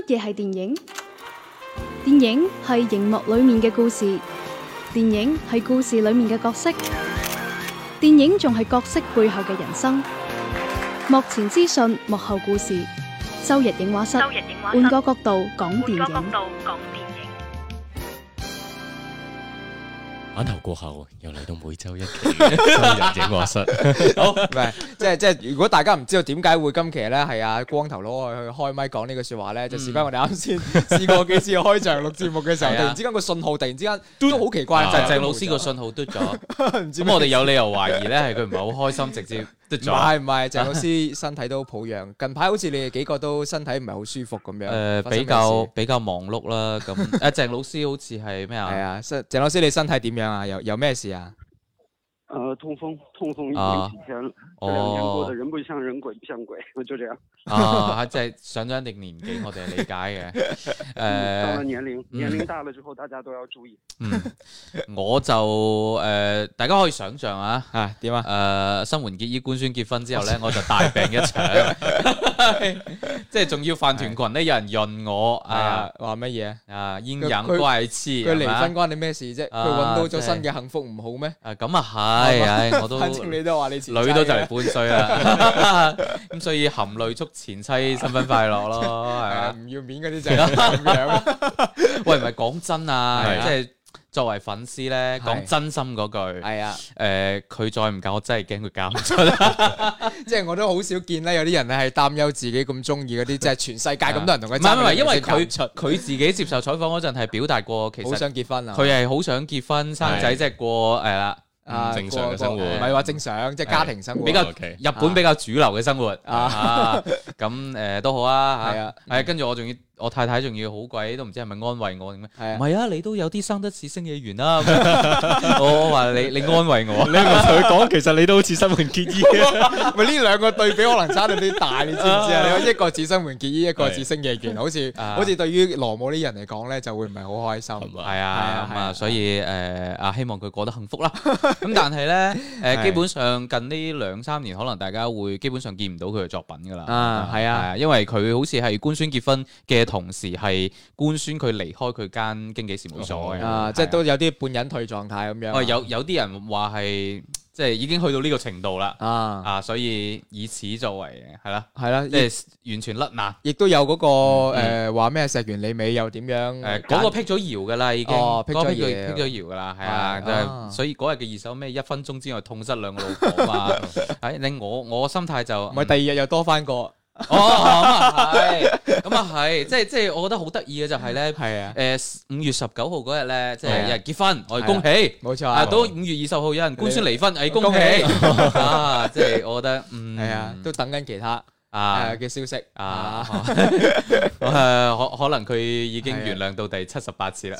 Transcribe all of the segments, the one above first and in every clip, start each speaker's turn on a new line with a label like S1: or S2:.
S1: 乜嘢係電影？電影係熒幕裏面嘅故事，電影係故事裏面嘅角色，電影仲係角色背後嘅人生。幕前資訊，幕後故事。周日映畫室，換個角度講電影。
S2: 版頭過後，又嚟到每週一期嘅周日映畫室。
S3: 好，唔係即係，如果大家唔知道點解會今期咧係阿光頭佬去開麥講呢句説話咧，就事關我哋啱先試過幾次開場錄節目嘅時候，突然之間個信號突然之間都好奇怪，
S4: 就係鄭老師個信號嘟咗。咁我哋有理由懷疑咧係佢唔係好開心，直接嘟咗。
S3: 唔係，鄭老師身體都抱恙，近排好似你哋幾個都身體唔係好舒服咁樣。
S4: 比較忙碌啦。咁鄭老師好似係咩啊？
S3: 係啊，鄭老師你身體點樣啊？有咩事啊？
S5: 痛風已經幾天了，這2年過得人不像人，鬼不像鬼，就這樣。
S4: 即係上咗一定年紀，我哋係理解嘅。
S5: 到了年齡大了之後，大家都要注意。
S4: 我就大家可以想象啊，
S3: 點啊？
S4: 新垣結衣官宣結婚之後咧，我就大病一場，即係仲要飯團群咧有人潤我
S3: 話乜嘢
S4: 啊？陰陽怪氣，
S3: 佢離婚關你咩事啫？佢揾到咗新嘅幸福唔好咩？
S4: 咁啊係，我都
S3: 反正你都話你前妻
S4: 女都就嚟半歲啦，咁所以含淚祝前妻新婚快樂咯，係啊，
S3: 唔要面嗰啲就係咁樣。
S4: 喂，唔係講真啊，即係作為粉絲咧，講真心嗰句，
S3: 係啊，
S4: 佢再唔嫁，我真係驚佢嫁唔出。
S3: 即係我都好少見咧，有啲人咧係擔憂自己咁中意嗰啲，即係全世界咁多人同佢。
S4: 唔係，因為佢自己接受採訪嗰陣係表達過，其實
S3: 好想結婚啊，
S4: 佢係好想結婚生仔，即係過啦。
S2: 正常嘅生活，
S3: 唔係話正常，即係家庭生活，
S4: 比較日本比較主流嘅生活咁都好啊，係跟住我太太仲要好鬼都唔知係咪安慰我定咩？唔係啊，你都有啲生得似星野源啦。我話你安慰我，
S2: 你咪同佢講，其實你都好似新垣結衣。
S3: 咪呢兩個對比可能差到啲大，你知唔知啊？你話一個似新垣結衣，一個似星野源，好似對於羅姆啲人嚟講咧，就會唔係好開心。
S4: 係啊，所以希望佢過得幸福啦。咁但係咧基本上近呢2-3年，可能大家會基本上見唔到佢嘅作品㗎啦。係啊，因為佢好似係官宣結婚嘅同時係官宣佢離開佢間經紀事務所嘅，
S3: 即係都有啲半隱退狀態咁樣。
S4: 有啲人話係即係已經去到呢個程度啦，所以以此作為係啦，即係完全甩難。亦
S3: 都有嗰個話咩石原里美又點樣？
S4: 嗰個辟咗謠㗎啦，已經
S3: 辟咗
S4: 謠㗎啦，係啊，所以嗰日嘅熱搜咩1分鐘之內痛失2個老婆嘛，令我心態就
S3: 唔係第2日又多翻個。
S4: 咁啊係，即係我覺得好得意嘅就係咧，5月19號嗰日咧，即係有人結婚，我哋恭喜，
S3: 冇錯。
S4: 到5月20號有人官宣離婚，恭喜即係我覺得
S3: 都等緊其他嘅消息
S4: 可能佢已經原諒到第78次啦。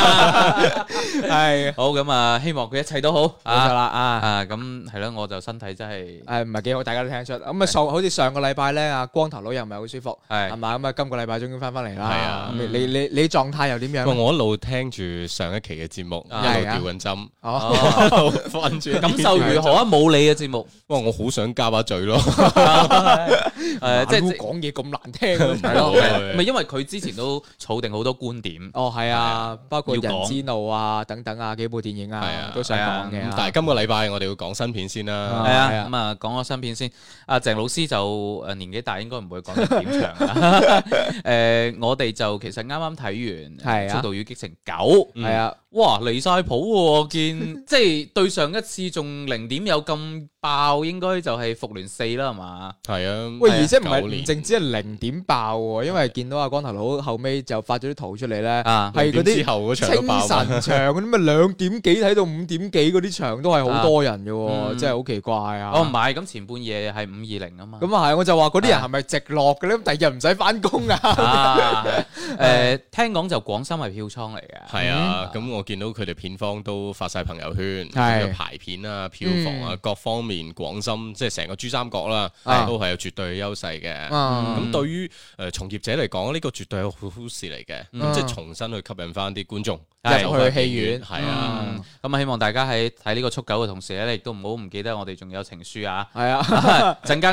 S3: 係
S4: 好咁啊，希望佢一切都好。
S3: 冇錯啦
S4: 咁係咯，我就身體真係
S3: 唔係幾好，大家都聽得出。咁好似上個禮拜咧，阿光頭佬又唔係好舒服，係嘛？咁啊，今個禮拜終於翻嚟啦。係啊，你狀態又點樣？
S2: 我一路聽住上一期嘅節目，一路吊緊針，瞓住。
S4: 感受如何啊？冇你嘅節目，
S2: 我好想加把嘴咯。
S3: 即係講嘢咁難聽，
S4: 係咯，唔係因為佢之前都儲定好多觀點。
S3: 係啊，包括人之怒啊等等啊，幾部電影啊都想講嘅。
S2: 但係今個禮拜我哋要講新片先啦。
S4: 係啊，咁啊講個新片先。阿鄭老師就年紀大，應該唔會講得點長啦。我哋就其實啱啱睇完《速度與激情9》。係啊，哇離晒譜喎！見即係對上一次仲零點有咁爆，應該就係《復聯4》啦，係嘛？
S2: 係啊，
S3: 喂，而且唔淨止係0點爆喎，因為見到阿光頭佬後尾就發咗啲圖出嚟咧，係嗰啲清晨場嗰啲咩2點幾睇到5點幾嗰啲場都係好多人嘅喎，真係好奇怪啊！
S4: 唔係，咁前半夜係520啊嘛。
S3: 咁啊係，我就話嗰啲人係咪直落嘅咧？第二日唔使翻工啊？
S4: 聽講就廣深係票倉嚟嘅。
S2: 係啊，咁我見到佢哋片方都發晒朋友圈，排片啊、票房啊各方面，廣深即係成個珠三角啦，都係有絕對嘅優勢嘅。咁對於從業者嚟講，呢個絕對係好事嚟嘅，即係重新去吸引翻啲觀眾
S3: 入去戲院。
S2: 係啊，
S4: 咁啊希望大家喺睇呢個速9嘅同時咧，亦都唔好唔記得我哋仲有情書啊。係啊，陣間再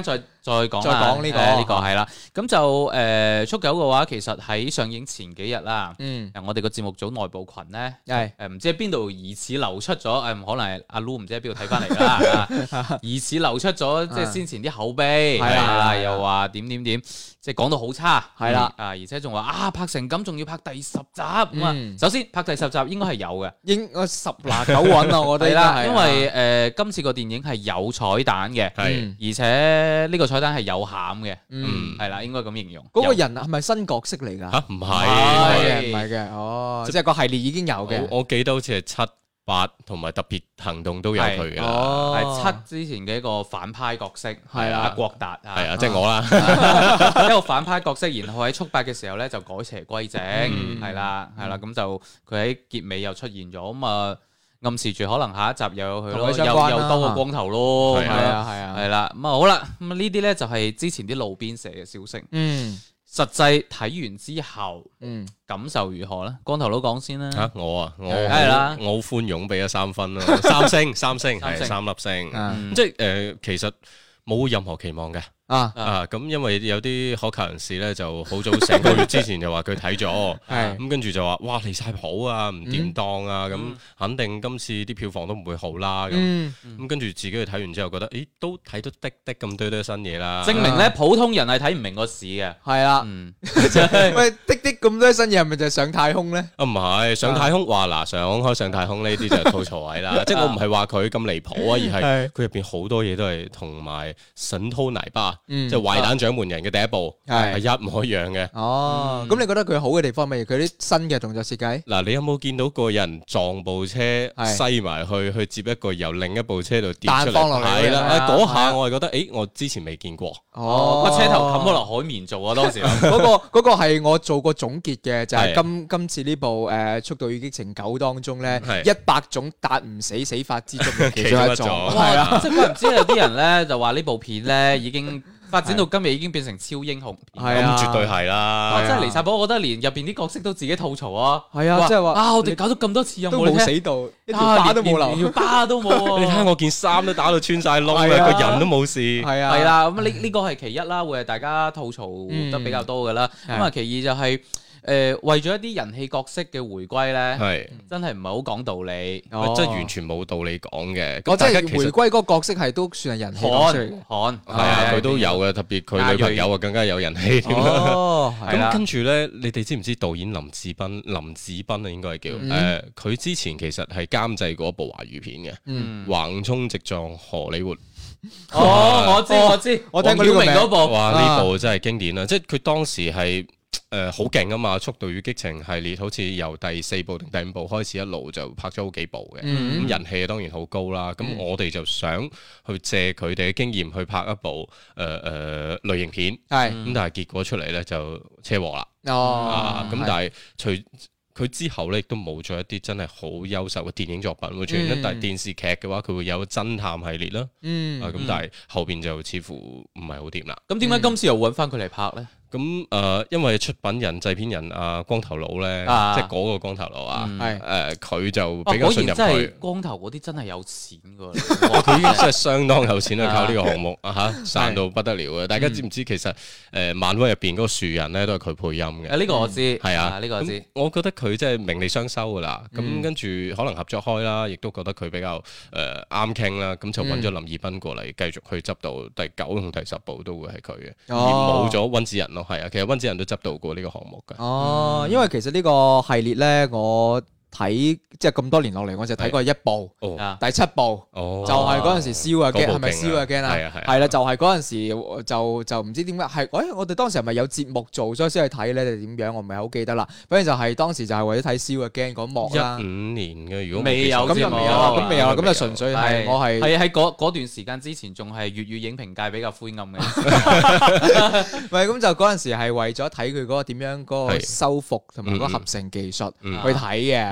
S4: 再講呢個係啦。咁就速九嘅話，其實喺上映前幾日啦，我哋個節目組內部群咧，唔知喺邊度疑似流出咗，可能係阿 Lu 唔知喺邊度睇翻嚟啦，疑似流出咗即係先前啲口碑，係啦，又話點，即係講到好差，係啦，而且仲話拍成咁，仲要拍第10集咁啊。首先拍第10集應該係有嘅，應該10拿9穩啊，我覺得啦，因為今次個電影係有彩蛋嘅，而且呢個彩蛋係有餡嘅，係啦，應該咁形容。嗰個人係咪新角色嚟㗎？嚇，唔係嘅，即係個系列已經有嘅。我記得好似係7、8同埋特別行動都有佢嘅，係7之前嘅一個反派角色，係阿郭達，係啊，即係我啦，一個反派角色，然後喺速8嘅時候咧就改邪歸正，係啦，咁就佢喺結尾又出現咗，咁啊暗示住可能下一集又有佢咯，又多個光頭咯，係啦，咁啊好啦，咁呢啲咧就係之前啲路邊社嘅消息，實際睇完之後，感受如何咧？光頭佬講先啦。嚇我係啦，我好寬容俾咗3分咯，3星係3粒星，即係其實冇任何期望嘅。咁因為有啲可靠人士咧，就好早成個月之前就話佢睇咗，咁跟住就話哇離晒譜啊，唔掂當啊，咁肯定今次啲票房都唔會好啦，咁跟住自己去睇完之後覺得，咦都睇到滴咁多新嘢啦，證明咧普通人係睇唔明個市嘅，係啦，喂滴咁多新嘢係咪就係上太空咧？唔係上太空，話嗱上太空呢啲就係吐槽位啦，即係我唔係話佢咁離譜啊，而係佢入邊好多嘢都係同埋神偷奶爸。即係壞蛋掌門人嘅第一部係一模一樣嘅。咁你覺得佢好嘅地方係佢啲新嘅動作設計？嗱，你有冇見到個人撞部車西埋去接一個由另一部車度跌出嚟？係啦，嗰下我係覺得，我之前未見過。個車頭冚咗落海綿做啊！當時嗰個係我做過總結嘅，就係今次呢部《速度與激情9》當中咧，100種達唔死法之中嘅其中一種。係啊，即係唔知有啲人咧就話呢部片咧已經發展到今日已經變成超英雄片，咁絕對係啦！真係離晒譜，我覺得連入邊啲角色都自己吐槽啊！係啊，即係話我哋搞咗咁多次都冇死到，一條疤都冇留，條疤都冇。你睇下我件衫都打到穿晒窿啦，個人都冇事。係啊，係啦，咁呢個係其一啦，會係大家吐槽得比較多噶啦。咁啊，其二就係為咗一啲人氣角色嘅回歸咧，真係唔係好講道理，即係完全冇道理講嘅。即係回歸嗰個角色係都算係人氣角色，係啊，佢都有嘅，特別佢女朋友啊更加有人氣添啦。咁跟住咧，你哋知唔知導演林子斌啊，應該係叫佢之前其實係監製過一部華語片嘅，橫衝直撞荷里活。我知，我聽過呢個名嗰部。哇，呢部真係經典啦！即係佢當時係。好勁啊嘛！《速度與激情》系列好似由第4部定第5部開始一路就拍咗好幾部嘅，咁人氣當然好高啦。咁我哋就想去借佢哋嘅經驗去拍一部類型片，咁但係結果出嚟咧就車禍啦。咁但係佢之後咧亦都冇咗一啲真係好優秀嘅電影作品會出現，但係電視劇嘅話佢會有偵探系列啦。咁但係後邊就似乎唔係好掂啦。咁點解今次又揾翻佢嚟拍咧？咁因為出品人、製片人光頭佬咧，即係嗰個光頭佬啊，佢就比較信任佢。光頭嗰啲真係有錢㗎，佢已經真係相當有錢啦，靠呢個項目賺到不得了嘅。大家知唔知其實漫威入邊嗰個樹人咧都係佢配音嘅？呢個我知，係啊，呢個我知。我覺得佢真係名利雙收㗎啦。咁跟住可能合作開啦，亦都覺得佢比較啱傾啦。咁就揾咗林義斌過嚟繼續去執導第9同第10部都會係佢嘅，而冇咗溫子仁。係啊，其實溫子仁都執導過呢個項目㗎。因為其實呢個系列咧，我睇即係咁多年落嚟，我就睇過1部，第7部，就係嗰陣時燒啊驚，係咪燒啊驚啊？係啦，就係嗰陣時就唔知點解係，我哋當時係咪有節目做，所以先去睇咧定點樣？我唔係好記得啦。反正就係當時就係為咗睇燒啊驚嗰幕啦。15年嘅，如果未有咁就未有啦，咁未有啦，咁就純粹係我係喺嗰段時間之前，仲係粵語影評界比較灰暗嘅。唔係咁就嗰陣時係為咗睇佢嗰個點樣嗰個修復同埋嗰個合成技術去睇嘅。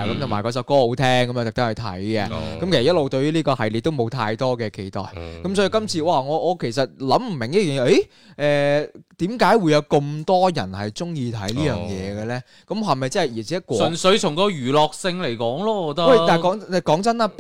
S3: 咁同埋嗰首歌好聽，咁啊特登去睇嘅。咁其實一路對於呢個系列都冇太多嘅期待。咁所以今次哇，我其實諗唔明一樣嘢，點解會有咁多人係中意睇呢樣嘢嘅咧？咁係咪真係而且
S4: 純粹從個娛樂性嚟講咯？我覺得。
S3: 喂，但係講真啦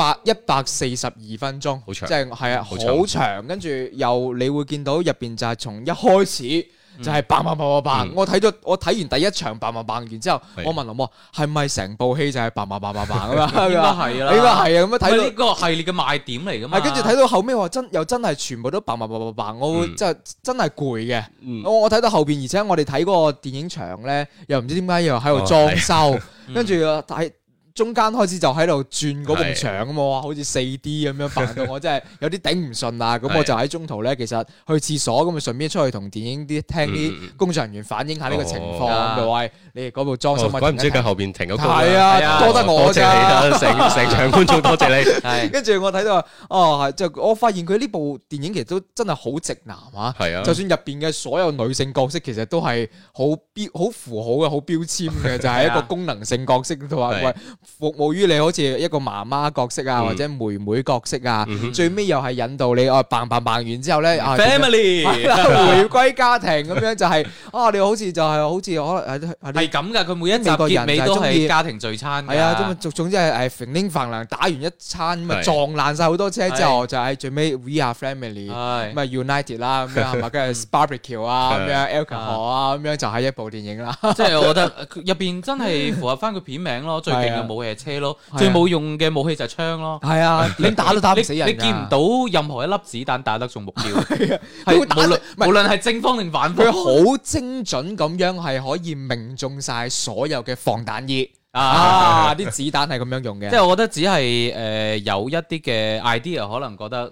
S3: ，142分鐘，
S2: 好長，
S3: 即係係啊，好長。跟住又你會見到入邊就係從一開始。就係砰砰砰砰砰！我睇完第一場砰砰砰完之後，我問林係咪成部戲就係砰砰砰砰砰咁啊？應該係啦，應該係啊！咁樣睇到
S4: 呢個系列嘅賣點嚟㗎嘛。
S3: 係跟住睇到後尾話真係全部都砰砰砰砰砰，我會真係攰嘅。我睇到後邊，而且我哋睇嗰個電影場咧，又唔知點解又喺度裝修，跟住睇。中間開始就喺度轉嗰埲牆啊嘛，好似 4D 咁樣扮到我真係有啲頂唔順啊！咁我就喺中途咧，其實去廁所咁啊，順便出去同電影聽啲工作人員反映下呢個情況，就話你哋嗰部裝修
S2: 鬼唔知佢後邊停咗工。
S3: 係啊，多得我
S2: 㗎，成場觀眾多謝你。係，
S3: 跟住我睇到係就我發現佢呢部電影其實都真係好直男啊！係啊，就算入邊嘅所有女性角色，其實都係好符號嘅、好標籤嘅，就係一個功能性角色同埋喂。服務於你好似一個媽媽角色啊，或者妹妹角色啊，最尾又係引導你砰砰砰完之後咧，family 回歸家庭咁樣就係你好似可能
S4: 係咁噶，佢每一集結尾都係家庭聚餐。
S3: 係啊，總之係揈拎飯糧打完一餐咁啊撞爛晒好多車之後，就係最尾 We are family 咁啊 United 啦咁樣係嘛，跟住 barbecue 啊咁樣 alcohol 啊咁樣就係一部電影啦。
S4: 即係我覺得入邊真係符合翻個片名咯，最勁嘅武器係車咯，最冇用嘅武器就係槍咯。係啊，點打都打唔死人。你見唔到任何一粒子彈打得中目標。係無論係正方定反方，佢
S3: 好精準咁樣係可以命中晒所有嘅防彈衣。啲子彈係咁樣用嘅。即
S4: 係我覺得只係有一啲嘅 idea 可能覺得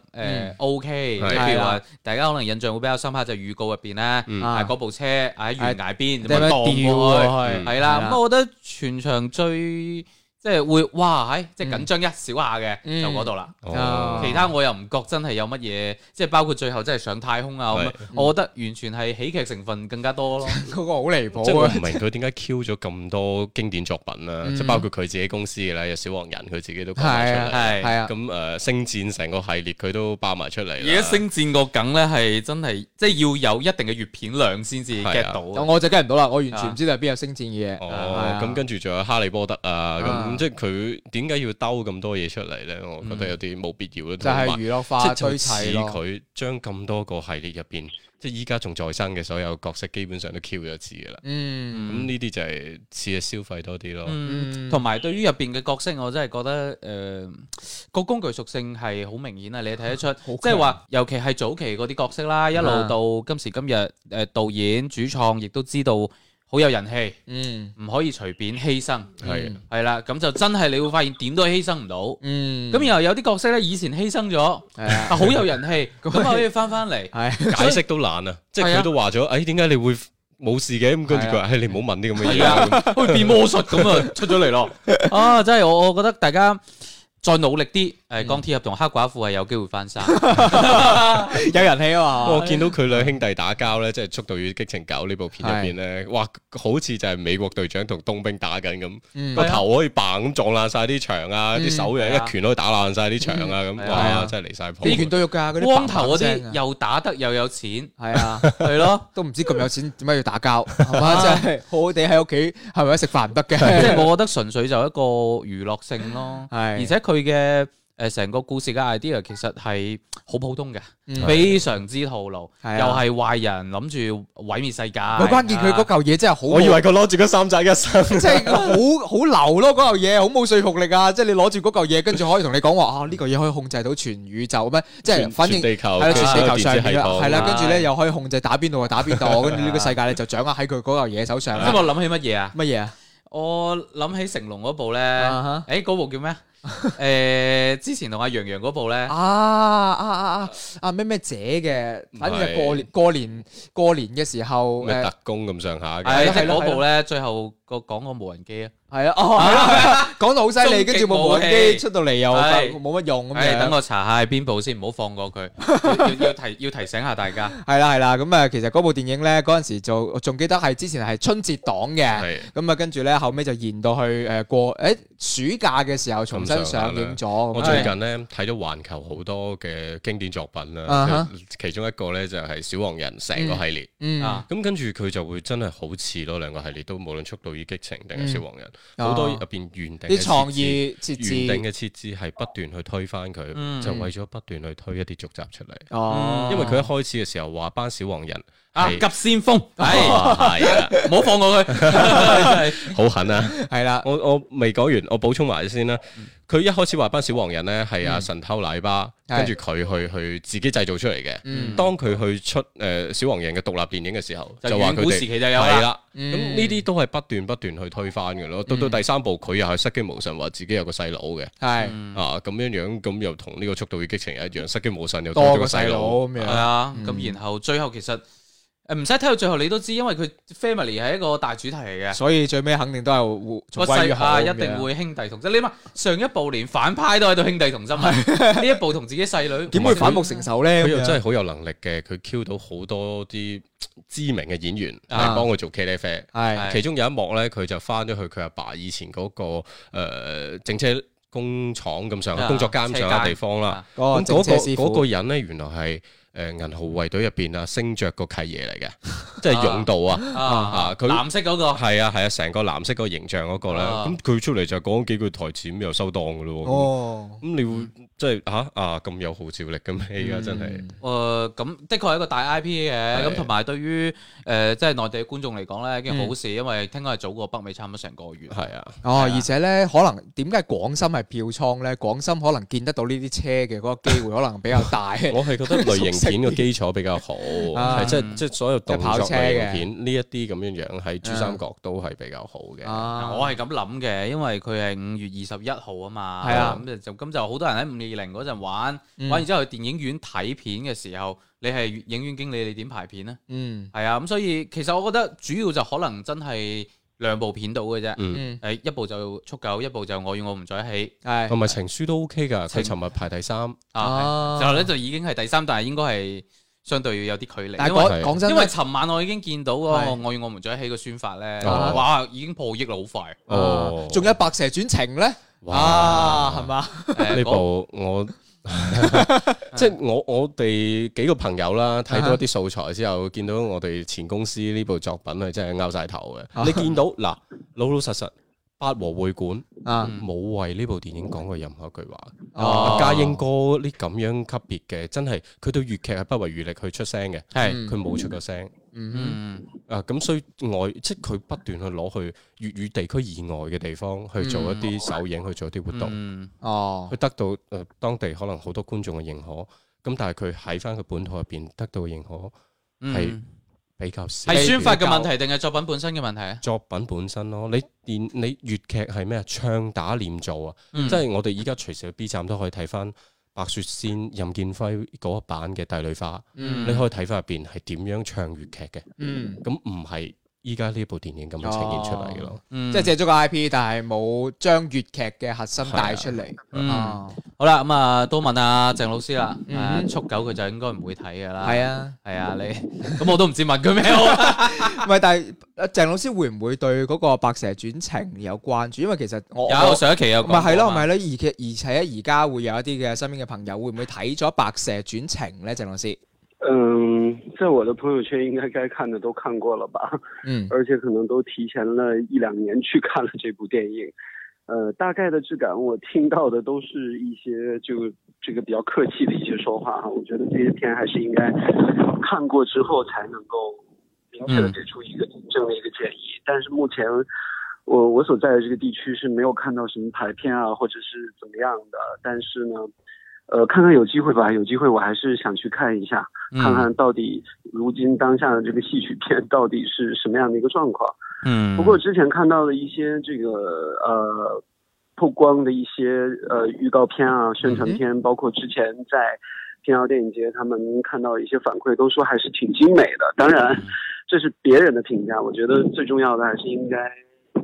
S4: OK，譬如話大家可能印象會比較深刻就預告入邊咧，嗰部車喺懸崖邊咁樣蕩過去，係啦。咁我覺得全場最即係會哇，即係緊張一小下嘅就嗰度啦。其他我又唔覺真係有乜嘢，即係包括最後真係上太空啊咁。我覺得完全係喜劇成分更加多咯。
S3: 嗰個好離譜。
S2: 即係我唔明佢點解 Q 咗咁多經典作品啦，即係包括佢自己公司嘅啦，有小黃人佢自己都講埋出嚟。係啊。咁星戰成個系列佢都包埋出嚟。
S4: 而家星戰個梗咧係真係即係要有一定嘅閱片量先至 get 到。
S3: 我就 get 唔到啦，我完全唔知道邊有星戰嘅嘢。
S2: 咁跟住仲有哈利波特啊咁。即係佢點解要兜咁多嘢出嚟咧？我覺得有啲冇必要咯。
S3: 就係娛樂化堆砌咯。
S2: 佢將咁多個系列入邊，即係依家仲在生嘅所有角色，基本上都 Q 咗字噶啦。咁呢啲就係似係消費多啲咯。
S4: 同埋對於入邊嘅角色，我真係覺得個工具屬性係好明顯啊！你睇得出，即係話，尤其係早期嗰啲角色啦，一路到今時今日，導演主創亦都知道。好有人氣，唔可以隨便犧牲，係啦，咁就真係你會發現點都犧牲唔到，咁然後有啲角色咧以前犧牲咗，好有人氣，咁可以翻嚟，
S2: 解釋都難啊，即係佢都話咗，點解你會冇事嘅？咁跟住佢話，你唔好問啲咁嘅嘢，
S4: 好似變魔術咁啊出咗嚟咯，真係我覺得大家。再努力啲，鋼鐵俠同黑寡婦係有機會翻生，
S3: 有人氣啊嘛！
S2: 我見到佢兩兄弟打交咧，即係《速度與激情9》呢部片入邊咧，哇，好似就係美國隊長同冬兵打緊咁，個頭可以嘭咁撞爛晒啲牆啊，啲手又一拳可以打爛晒啲牆啊，咁哇，真係離晒譜！
S3: 幾拳都喐㗎，嗰啲
S4: 光頭嗰啲又打得又有錢，
S3: 係啊，係咯，都唔知咁有錢點解要打交，係嘛？即係好好地喺屋企係咪食飯唔得嘅？
S4: 即係我覺得純粹就一個娛樂性咯，而且佢嘅成個故事嘅 idea 其實係好普通嘅，非常之套路，又係壞人諗住毀滅世界。
S3: 關鍵佢嗰嚿嘢真係好，
S2: 我以為佢攞住嗰三仔一生，
S3: 即係好流咯嗰嚿嘢，好冇說服力啊！即係你攞住嗰嚿嘢，跟住可以同你講話呢嚿嘢可以控制到全宇宙咩？即係反正
S2: 地球
S3: 係啦，全地球上面係啦，跟住咧又可以控制打邊度就打邊度，跟住呢個世界咧就掌握喺佢嗰嚿嘢手上。
S4: 咁我諗起乜嘢啊？
S3: 乜嘢啊？
S4: 我諗起成龍嗰部咧，嗰部叫咩？之前同阿楊洋嗰部咧，
S3: 咩姐嘅，反正係過年嘅時候，
S2: 咩特工咁上下嘅，
S4: 係嗰部咧，最後講個無人機
S3: 係啊，係啦，講到好犀利，跟住部無人機出到嚟又冇乜用咁樣。
S4: 等我查下係邊部先，唔好放過佢。要提醒下大家。係
S3: 啦，咁啊，其實嗰部電影咧嗰陣時就仲記得係之前係春節檔嘅，咁啊跟住咧後尾就延到去過暑假嘅時候重新上映咗。
S2: 我最近咧睇咗環球好多嘅經典作品啦，其中一個咧就係小黃人成個系列，咁跟住佢就會真係好似咯，兩個系列都無論速度與激情定係小黃人。好多入邊原定
S3: 啲創意設置，
S2: 原定嘅設置係不斷去推翻佢，就為咗不斷去推一啲續集出嚟。因為佢一開始嘅時候話班小黃人
S4: 急先鋒，係啊，唔好放過佢，
S2: 好狠啊！
S3: 係啦，
S2: 我未講完，我補充埋先啦。佢一開始話班小黃人咧係阿神偷奶爸，跟住佢去自己製造出嚟嘅。當佢去出小黃人嘅獨立電影嘅時候，就話佢哋係啦。咁呢啲都係不斷去推翻嘅咯。到第三部佢又係失驚無神，話自己有個細佬嘅。係咁樣，咁又同呢個速度與激情一樣，失驚無神又多咗個細佬咁樣。
S4: 係啊，咁然後最後其實。唔使睇到最後你都知，因為佢 family 係一個大主題嚟嘅，
S3: 所以最尾肯定都係
S4: 個細一定會兄弟同心。你諗上一部連反派都喺度兄弟同心，呢一部同自己細女
S3: 點會反目成仇咧？
S2: 佢又真係好有能力嘅，佢 Q 到好多啲知名嘅演員嚟幫佢做茄喱啡。其中有一幕咧，佢就翻咗去佢阿爸以前嗰個整車工廠咁上下工作間咁上下地方啦。咁嗰個人咧，原來係。銀河護衛隊入邊啊，星爵個契爺嚟嘅，即係勇道佢
S4: 藍色嗰個
S2: 係啊，成個藍色嗰個形象嗰個咧，咁佢出嚟就講幾句台詞咁又收檔噶咯。咁你會即係咁有號召力嘅咩？而家真係
S4: 咁的確係一個大 IP 嘅，咁同埋對於即係內地嘅觀眾嚟講咧，一件好事，因為聽講係早過北美差唔多成個月。
S2: 係啊，
S3: 而且咧可能點解廣深係票倉咧？廣深可能見得到呢啲車嘅嗰個機會可能比較大。
S2: 我係覺得類型片嘅基礎比較好，係即係所有動作類型片呢一啲咁樣喺珠三角都係比較好嘅。
S4: 我係咁諗嘅，因為佢係5月21號啊嘛，
S3: 係啊，
S4: 咁就好多人喺520嗰陣玩完之後去電影院睇片嘅時候，你係影院經理，你點排片呢？係啊，咁所以其實我覺得主要就可能真係2部片到嘅啫，一部就速九，一部就我與我們在一起，
S2: 同埋情書都 OK 噶，佢尋日排第3，
S4: 之後咧就已經係第3，但係應該係相對有啲距離。
S3: 但係講真，
S4: 因為尋晚我已經見到嗰個我與我們在一起嘅宣發咧，哇，已經破億啦，好快。
S3: 仲有白蛇傳情咧，哇，係嘛？
S2: 呢部我。即係我哋幾個朋友啦，睇到一啲素材之後，見到我哋前公司呢部作品係真係拗晒頭嘅。你見到嗱，老實八和會館冇為呢部電影講過任何一句話。家英哥呢咁樣級別嘅，真係佢對粵劇係不遺餘力去出聲嘅，佢冇出過聲。咁所以即係佢不斷去攞去粵語地區以外嘅地方去做一啲首映，去做一啲活動。佢得到當地可能好多觀眾嘅認可，咁但係佢喺翻佢本土入邊得到嘅認可係比較少。
S4: 係宣發嘅問題定係作品本身嘅問題啊？
S2: 作品本身咯，你粵劇係咩啊？唱打念做啊！即係我哋依家隨時去 B 站都可以睇翻白雪仙、任劍輝嗰一版嘅《帝女花》，你可以睇翻入邊係點樣唱粵劇嘅。咁唔係依家呢部電影咁樣呈現出嚟嘅咯。
S3: 即係借咗個 IP，但係冇將粵劇嘅核心帶出嚟。
S4: 好啦，咁都問阿鄭老師啦。速九佢就應該唔會睇噶啦。係啊，你咁我都唔知問佢咩好。
S3: 唔係，但係鄭老師會唔會對嗰個《白蛇傳情》有關注？因為其實我
S4: 有上一期有講。
S3: 係咯，而且而家會有一啲嘅身邊嘅朋友會唔會睇咗《白蛇傳情》咧？鄭老師，
S5: 在我的朋友圈應該看的都看過了吧？而且可能都提前了1-2年去看了這部電影。大概的質感我聽到的都是一些這個比較客氣的一些說話哈。我覺得這些片還是應該看過之後才能夠明確的給出一個正的一個建議。但是目前我所在的這個地區是沒有看到什麼排片啊，或者是怎麼樣的。但是呢，看看有機會吧，有機會我還是想去看一下，看看到底如今當下的這個戲曲片到底是什麼樣的一個狀況。不過之前看到的一些這個曝光的一些預告片啊、宣傳片，包括之前在平遙電影節，他們看到一些反饋，都說還是挺精美的。當然，這是別人的評價，我覺得最重要的還是應該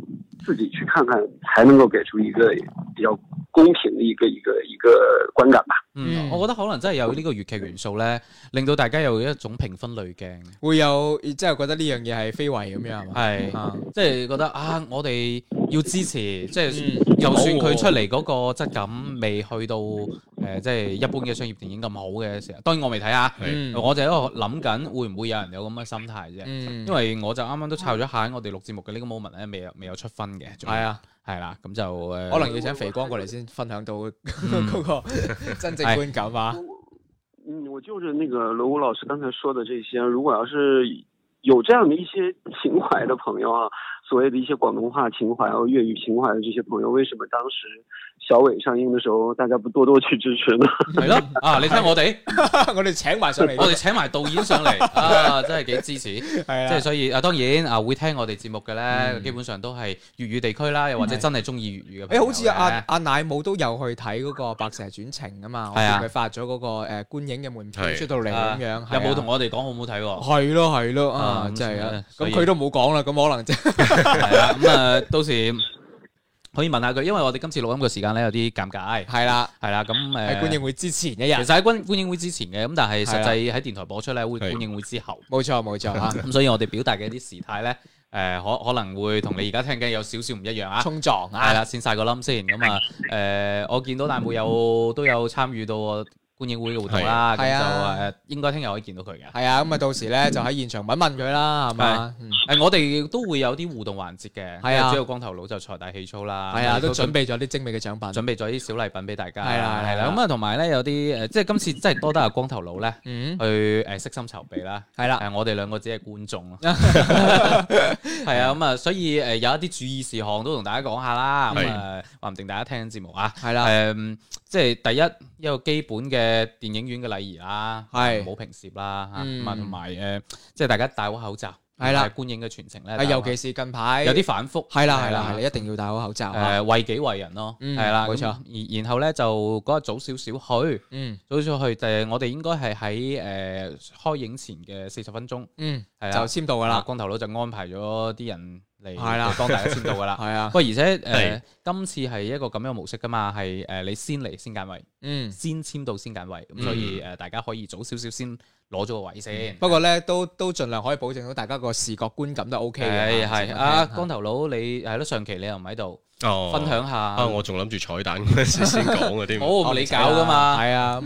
S5: 自己去看看，才能夠給出一個比較公平的一個觀感吧。
S4: 我覺得可能真係有呢個粵劇元素咧，令到大家有一種評分濾鏡，
S3: 會有即係覺得呢樣嘢係非遺咁樣係嘛？
S4: 係，即係覺得啊，我哋要支持，即係就算佢出嚟嗰個質感未去到即係一般嘅商業電影咁好嘅時候，當然我未睇啊，我就喺度諗緊會唔會有人有咁嘅心態啫，因為我就啱啱都抄咗下我哋錄節目嘅呢個 moment 咧，未有出分嘅，係啊。係啦，咁就
S3: 可能要請肥光過嚟先分享到嗰個真正觀感啊。
S5: 我就是那個羅武老師剛才說的這些，如果要是有這樣的一些情懷的朋友啊，所謂的一些廣東話情懷或粵語情懷的這些朋友，為什麼當時小偉上映的時候，大家不多多去支持呢？
S4: 係咯，你睇我哋，
S3: 我哋請埋上嚟，
S4: 我哋請埋導演上嚟，真係幾支持。係即係所以當然會聽我哋節目嘅咧，基本上都係粵語地區啦，又或者真係中意粵語嘅。
S3: 好似阿奶母都有去睇嗰個《白蛇傳情》啊嘛，我見佢發咗嗰個觀影嘅門票出到嚟咁樣，
S4: 有冇同我哋講好唔好睇喎？
S3: 係咯，真係啊！咁佢都冇講啦，咁可能啫。
S4: 係啊，咁到時可以問下佢，因為我哋今次錄音嘅時間咧有啲尷尬。
S3: 係啦，
S4: 咁
S3: 喺觀影會之前一日，
S4: 其實喺觀影會之前嘅，咁但係實際喺電台播出咧會觀影會之後。冇錯啊，咁所以我哋表達嘅一啲時態咧，可能會同你而家聽緊有少少唔一樣啊。
S3: 衝撞啊，
S4: 係啦，先晒個冧先。咁我見到大妹都有參與到觀影會嘅活動啦，咁就應該聽日可以見到佢嘅。
S3: 係啊，咁到時咧就喺現場問佢啦，係嘛？
S4: 我哋都會有啲互動環節嘅。係啊，主要光頭佬就財大氣粗啦。
S3: 係啊，都準備咗啲精美嘅獎品，
S4: 準備咗啲小禮品俾大家。
S3: 係啦，
S4: 咁同埋咧有啲即係今次真係多得阿光頭佬咧，去悉心籌備啦。係啦，我哋兩個只係觀眾咯。係啊，咁所以有一啲注意事項都同大家講下啦。咁話唔定大家聽緊節目啊。係啦，即係第一個基本嘅電影院嘅禮儀啦，係唔好平攝啦，同埋即係大家戴好口罩，係啦，觀影嘅全程咧，
S3: 尤其是近排
S4: 有啲反覆，
S3: 係啦，一定要戴好口罩，
S4: 為己為人咯，係啦，冇錯。然後咧就嗰日早少少去，早少去，我哋應該係喺開映前嘅40分鐘，係
S3: 就簽到噶啦，
S4: 光頭佬就安排咗啲人嚟幫大家簽到噶啦，係啊。不過而且今次係一個咁樣模式噶嘛，係你先嚟先揀位，先簽到先揀位，咁所以大家可以早少少先攞咗個位先。
S3: 不過咧都盡量可以保證到大家個視覺觀感都 OK 嘅。
S4: 係光頭佬你係咯，上期你又唔喺度，分享下。
S2: 我仲諗住彩蛋嗰時先講嗰啲。
S4: 唔你搞噶嘛？
S3: 係啊。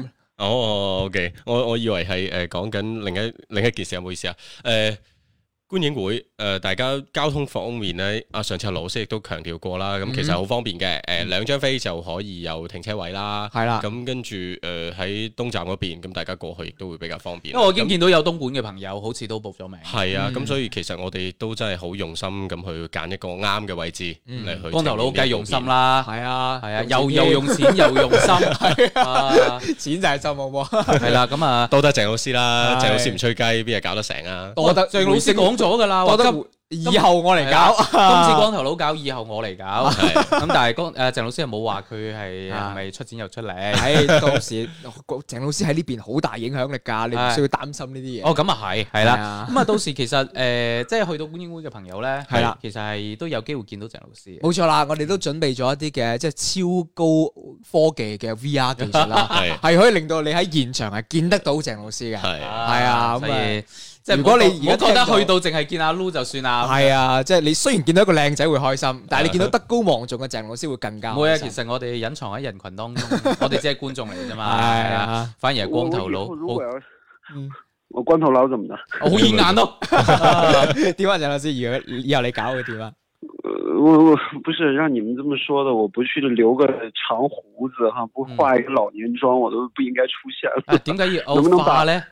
S2: OK，我以為係講緊另一件事，唔好意思啊。觀影會大家交通方面咧，上次老師亦都強調過啦，咁其實好方便嘅，2張飛就可以有停車位啦，係啦，咁跟住喺東站嗰邊，咁大家過去亦都會比較方便。
S4: 因為我已經見到有東莞嘅朋友好似都報咗名。
S2: 係啊，咁所以其實我哋都真係好用心咁去揀一個啱嘅位置嚟去。
S4: 光頭佬梗係用心啦，
S3: 係啊，
S4: 又用錢又用心，
S3: 錢就係心好冇？
S4: 係啦，咁
S2: 多得鄭老師啦，鄭老師唔吹雞，邊係搞得成啊？
S3: 多得
S4: 鄭老師講咗噶啦，我覺得
S3: 以後我嚟搞，
S4: 今次光頭佬搞，以後我嚟搞。咁但係鄭老師又冇話佢係咪出錢又出力。
S3: 到時鄭老師喺呢邊好大影響力㗎，你唔需要擔心呢啲嘢。
S4: 咁啊係啦。咁到時其實即係去到觀影會嘅朋友咧，係啦，其實係都有機會見到鄭老師。
S3: 冇錯啦，我哋都準備咗一啲嘅即係超高科技嘅 VR 技術啦，係可以令到你喺現場係見得到鄭老師嘅。係啊，咁啊。
S4: 即係如果你而家覺得去到淨係見阿 Lu 就算啦，
S3: 係啊，即係你雖然見到一個靚仔會開心，但係你見到德高望重嘅鄭老師會更加開心。
S4: 唔會啊，其實我哋隱藏喺人群當中，我哋只係觀眾嚟啫嘛。係啊，反而係光頭佬。
S5: 我光頭佬怎麼的？
S4: 好顯眼咯。
S3: 點啊，鄭老師，以後你搞會點啊？
S5: 我不是讓你們這麼說的，我不去留個長鬍子哈，不化一個老年妝，我都不應該出現了。
S4: 點解要歐化咧？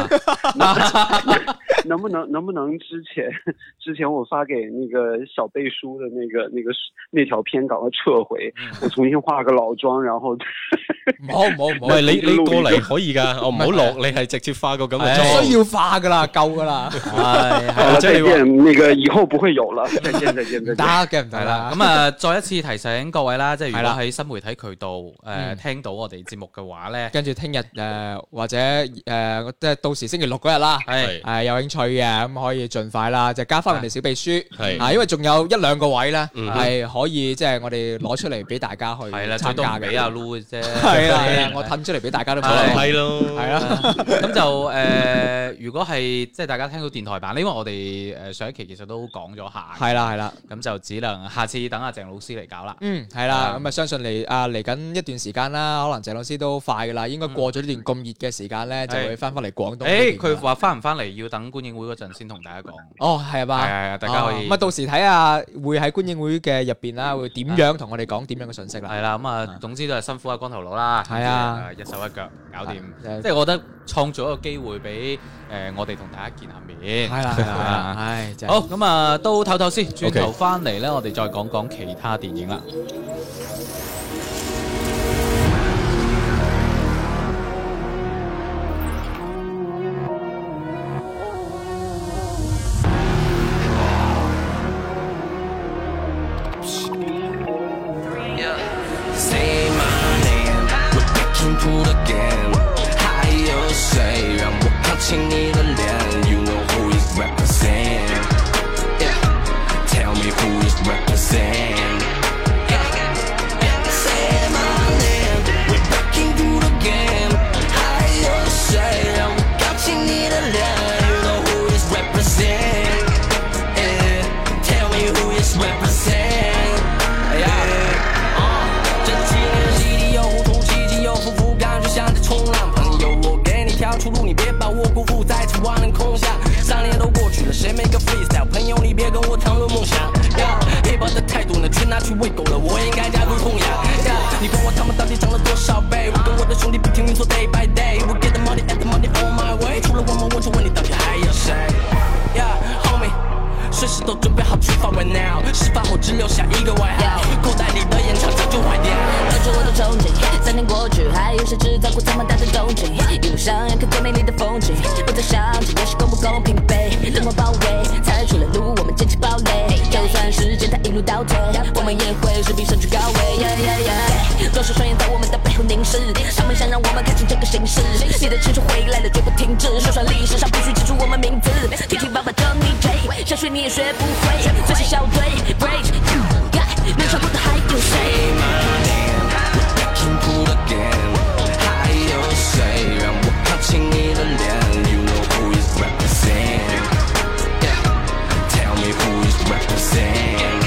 S5: 能不能之前我發給那個小貝叔的那條片趕快撤回，我重新化個老妝，然後
S3: 唔
S2: 係你過嚟可以噶，我唔好落，你係直接化個咁嘅妝，
S3: 需要化噶啦，夠噶啦。
S5: 係，再見，那個以後不會有了，再見。
S3: 得嘅唔得啦。
S4: 咁再一次提醒各位啦，即係如果喺新媒體渠道聽到我哋節目嘅話咧，
S3: 跟住聽日或者即係到時星期六嗰日啦，係有興趣嘅咁可以盡快啦，就加翻我哋小秘書，因為仲有1-2個位咧係可以即係我哋攞出嚟俾大家去參加嘅。俾阿 Lu 嘅啫，係啦，我褪出嚟俾大家都
S2: 係咯，係啦。
S4: 咁就如果係即係大家聽到電台版，因為我哋上一期其實都講咗下，
S3: 係啦，咁
S4: 就只能下次等阿鄭老師嚟搞啦。
S3: 係啦，咁啊相信嚟緊一段時間啦，可能鄭老師都快噶啦，應該過咗呢段咁熱嘅時間咧，就會翻嚟廣東。
S4: 佢話翻唔翻嚟要等觀影會嗰陣先同大家講。
S3: 哦，係嘛？
S4: 係，大家可以。
S3: 咁到時睇下會喺觀影會嘅入邊啦，會點樣同我哋講點樣嘅信息啦。
S4: 係啦，咁總之都係辛苦阿光頭佬啦。
S3: 係啊，
S4: 一手一腳搞掂。即係我覺得創造一個機會俾我哋同大家見下面。
S3: 係啦，
S4: 好，咁都唞唞先，轉頭翻嚟咧，我哋再講講其他電影啦。
S6: 请你的脸 You know who is represent Tell me who is represent Say my name We're breaking through the game 还有谁让我搞清你的脸 You know who is represent Tell me who is represent 这几年洗礼又糊涂奇迹又复复感觉像在冲浪朋友我给你条出路你别把我辜负在这万人空巷3年都过去了谁没个 freestyle 朋友你别跟我谈论梦想 hiphop 的态度呢全拿去喂狗了我应该加入供养你管我他们到底涨了多少倍我跟我的兄弟不停运作 day by day We get the money and the money on my way 除了我们我就问你到底还有谁 homie 随时都准备好出发 right now 事发后只留下一个外号口袋里的烟肠早就坏掉
S7: 抱着我的憧憬3年过去还有谁制造过这么大的动静一路上要看最美丽的风景不再想这游戏公不公平被冷漠包围踩出了路我们坚持堡垒就算时间它一路倒退我们也会势必身居高位多少双眼在我们的背后凝视他们想让我们看清这个形势你的青春回来了绝不停止说说历史上必须记住我们名字听听爸爸叫你 J 想学你也学不会最是小队 Rage 能唱过的还有谁
S6: 还有谁让我靠近你的脸 You know who is represent Tell me who is represent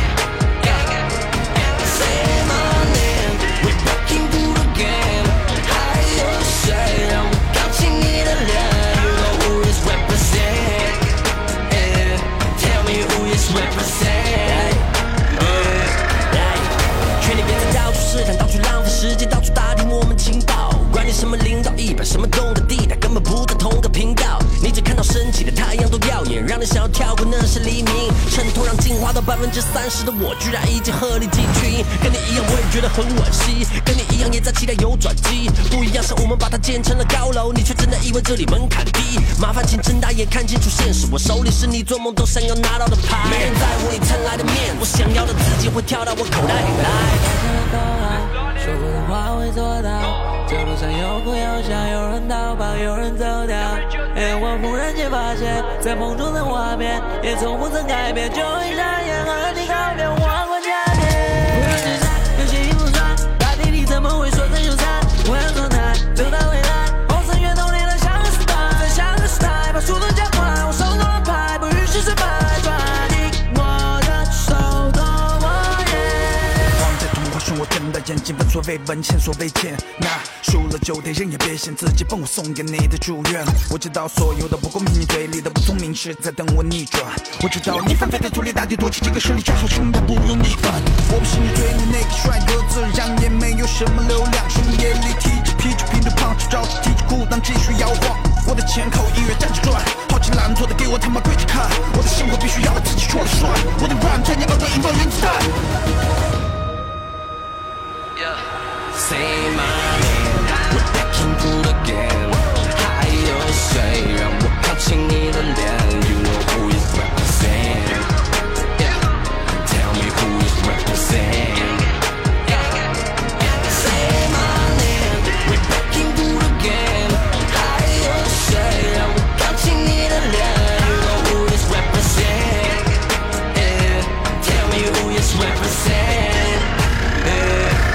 S6: Say my name We're breaking through the game 还有谁让我靠近你的脸 You know who is represent Tell me who is represent 权力变成到处试探到处浪费时间到处打听我们情报管你什么领导100什么动的地带根本不在同个频道你只看到升起的太阳多耀眼让人想要跳过那是黎明衬托让进化到30%的我居然已经鹤立鸡群跟你一样我也觉得很惋惜跟你一样也在期待有转机不一样是我们把它建成了高楼你却真的以为这里门槛低麻烦请睁大眼看清楚现实我手里是你做梦都想要拿到的牌没人在乎你蹭来的面我想要的自己会跳到我口袋里来
S8: 说过的话会做到这路上有哭有笑有人逃跑有人走掉我忽然间发现在梦中的画面也从不曾改变就会眨眼和你告别忘过假面不论是谁有些已不算大地里怎么会说真就散我要状态走到未来红色月动力的像个时代在像个时代把速度加快我手中的牌不允许失败抓紧我的手头
S9: 我睁大眼睛，闻所未闻，前所未见。那输了就得认，也别嫌自己笨，我送给你的祝愿。我知道所有的不公平，你嘴里的不聪明是在等我逆转。我知道你翻飞在土里大地，夺起这个实力，正好生的不用逆反。我不是你追的那个帅哥，自然也没有什么流量。深夜里提着啤酒，拼着胖，着急提着裤裆继续摇晃。我的前口音乐站着转，好奇懒惰的给我他妈跪着看。我的生活必须要我自己说了算，我的 rap 在你耳朵引爆原子弹。
S6: Say my name, we're breaking through the game 还有谁让我靠近你的脸 You know who is represent Tell me who is represent Say my name, we're breaking through the game 还有谁 Let's represent. Yeah.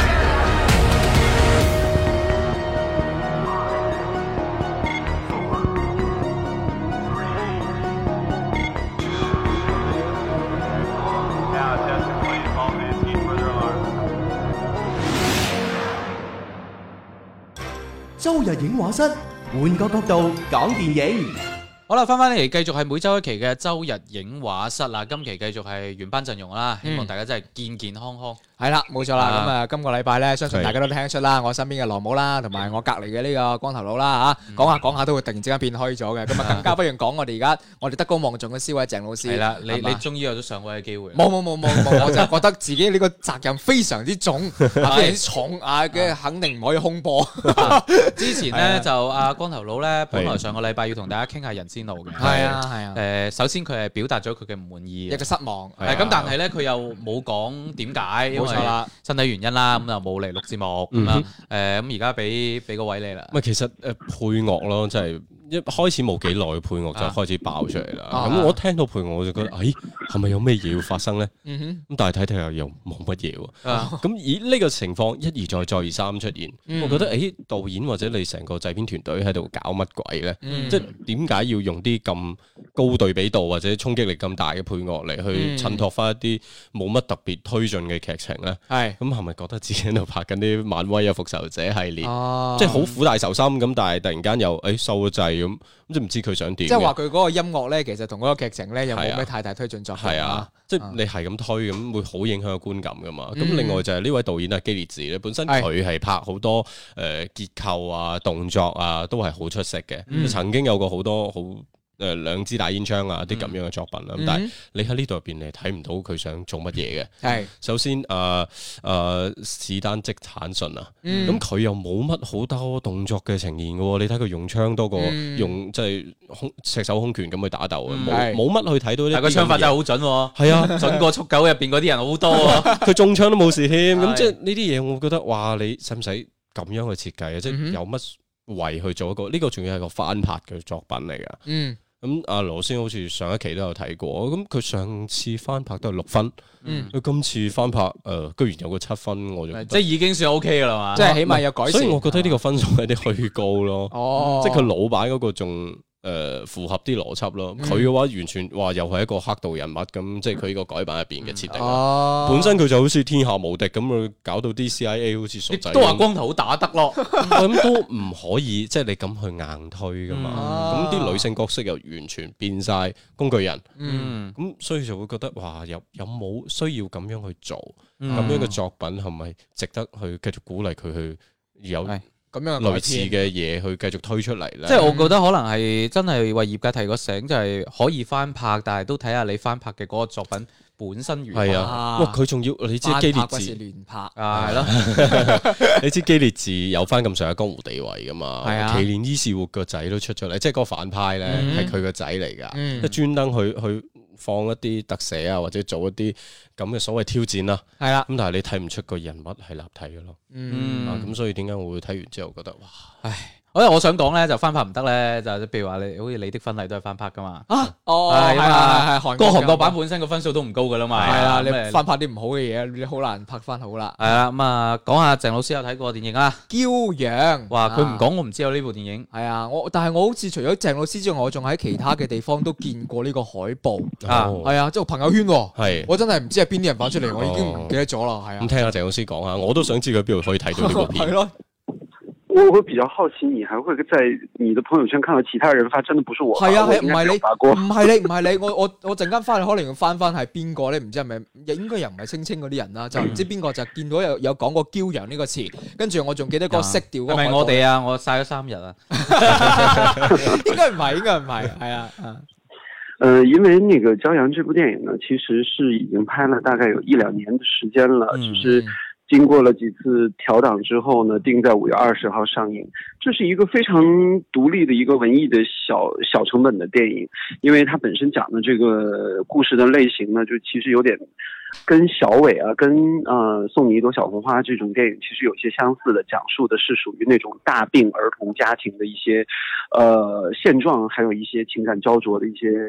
S10: 周日影畫室，換個角度講電影。
S4: 好啦，翻嚟繼續係每週一期嘅周日影畫室啦。今期繼續係原班陣容啦，希望大家真係健健康康。係啦，冇錯啦。咁啊，今個禮拜咧，相信大家都聽得出啦，我身邊嘅羅姆啦，同埋我隔離嘅呢個光頭佬啦嚇，講下講下都會突然之間變虛咗嘅。咁啊，更加不如講我哋而家我哋德高望重嘅師位鄭老師。係啦，你終於有咗上位嘅機會。冇，我就覺得自己呢個責任非常之重，非常之重啊嘅，肯定唔可以空播。之前咧就阿光頭佬咧，本來上個禮拜要同大家傾下人之怒嘅。係啊。首先佢係表達咗佢嘅唔滿意，一個失望。係咁，但係咧佢又冇講點解。冇錯啦，身體原因啦，咁就冇嚟錄節目咁樣。咁而家俾個位你啦。
S2: 唔係，其實配樂咯，即係一開始冇幾耐，配樂就開始爆出嚟啦。咁我聽到配樂我就覺得，係咪有咩嘢要發生咧？咁但係睇睇又冇乜嘢喎。咁以呢個情況一而再，再而三出現，我覺得導演或者你成個製片團隊喺度搞乜鬼咧？即係點解要用啲咁高對比度或者衝擊力咁大嘅配樂嚟去襯托翻一啲冇乜特別推進嘅劇情咧？咁係咪覺得自己喺度拍緊啲漫威啊復仇者系列？即係好苦大仇深咁，但係突然間又收咗掣咁，即係唔知佢想點。即係話佢嗰個音樂咧，其實同嗰個劇情咧又冇咩太大推進作用。係啊，即係你係咁推咁，會好影響個觀感噶嘛。咁另外就係呢位導演啊，基列治咧，本身佢係拍好多結構啊、動作啊，都係好出色嘅。曾經有過好多好兩支大煙槍啊啲咁樣嘅作品啦。咁但係你喺呢度入邊，你睇唔到佢想做乜嘢嘅。係首先史丹積坦遜啊，咁佢又冇乜好多動作嘅呈現嘅喎。你睇佢用槍多過用即係赤手空拳咁去打鬥嘅，冇乜去睇到啲。但係個槍法真係好準喎。係啊，準過速九入邊嗰啲人好多啊。佢中槍都冇事添。咁即係呢啲嘢，我覺得哇！你使唔使咁樣去設計啊？即係有乜為去做一個呢個？仲要係個翻拍嘅作品嚟㗎。咁阿羅先好似上一期都有睇過，咁佢上次翻拍都係6分，佢今次翻拍居然有個7分，我就即係已經算 OK 噶啦嘛，即係起碼有改善。所以我覺得呢個分數有啲虛高咯，即係佢老闆嗰個仲符合啲邏輯咯。佢嘅話完全話又係一個黑道人物咁，即係佢呢個改版入邊嘅設定。本身佢就好似天下無敵咁，佢搞到啲 CIA 好似傻仔。都話光頭好打得咯，咁都唔可以，即係你咁去硬推噶嘛。咁啲女性角色又完全變晒工具人，咁所以就會覺得哇，有冇需要咁樣去做？咁樣嘅作品係咪值得去繼續鼓勵佢去有？咁樣類似嘅嘢去繼續推出嚟咧，即係我覺得可能係真係為業界提個醒，就係可以翻拍，但係都睇下你翻拍嘅嗰個作品本身如何。係啊，哇！佢仲要你知基列治亂拍啊，係咯。你知基列治有翻咁上下江湖地位噶嘛？係啊，奇連伊士活個仔都出咗嚟，即係嗰個反派咧係佢個仔嚟噶，即係專登去放一啲特寫啊，或者做一啲咁嘅所謂挑戰啦。係啦，咁但係你睇唔出個人物係立體嘅咯。咁所以點解我會睇完之後覺得哇，唉！我想講咧，就翻拍唔得咧，就譬如話你好似你的婚禮都係翻拍噶嘛。係韓國版本身個分數都唔高噶啦嘛。係啊，你翻拍啲唔好嘅嘢，你好難拍翻好啦。係啊，咁啊，講下鄭老師有睇過電影啊，《驕陽》。哇，佢唔講我唔知有呢部電影。係啊，但係我好似除咗鄭老師之外，我仲喺其他嘅地方都見過呢個海報啊。係啊，即係朋友圈。係，我真係唔知係邊啲人發出嚟，我已經唔記得咗啦。係啊，咁聽下鄭老師講下，我都想知佢邊度可以睇到呢部片。係咯。
S5: 我會比較好奇，你還會在你的朋友圈看到其他人發，真的不是我發。係啊，係唔係你？唔係你，我陣間翻去可能要翻係邊個咧？唔知係咪？應該又唔係聲稱嗰啲人啦，就唔知邊個就見到有講過驕陽呢個詞，跟住我仲記得個色調。係咪我哋啊？我曬咗3日啊。應該唔係，係啊。因為那個驕陽這部電影呢，其實是已經拍了大概有1-2年的時間了，只是經過了幾次調檔之後呢，定在5月20號上映。這是一個非常獨立的一個文藝的小成本的電影，因為它本身講的這個故事的類型呢，就其實有點跟小偉啊，跟送你一朵小紅花這種電影其實有些相似的，講述的是屬於那種大病兒童家庭的一些現狀，還有一些情感焦灼的一些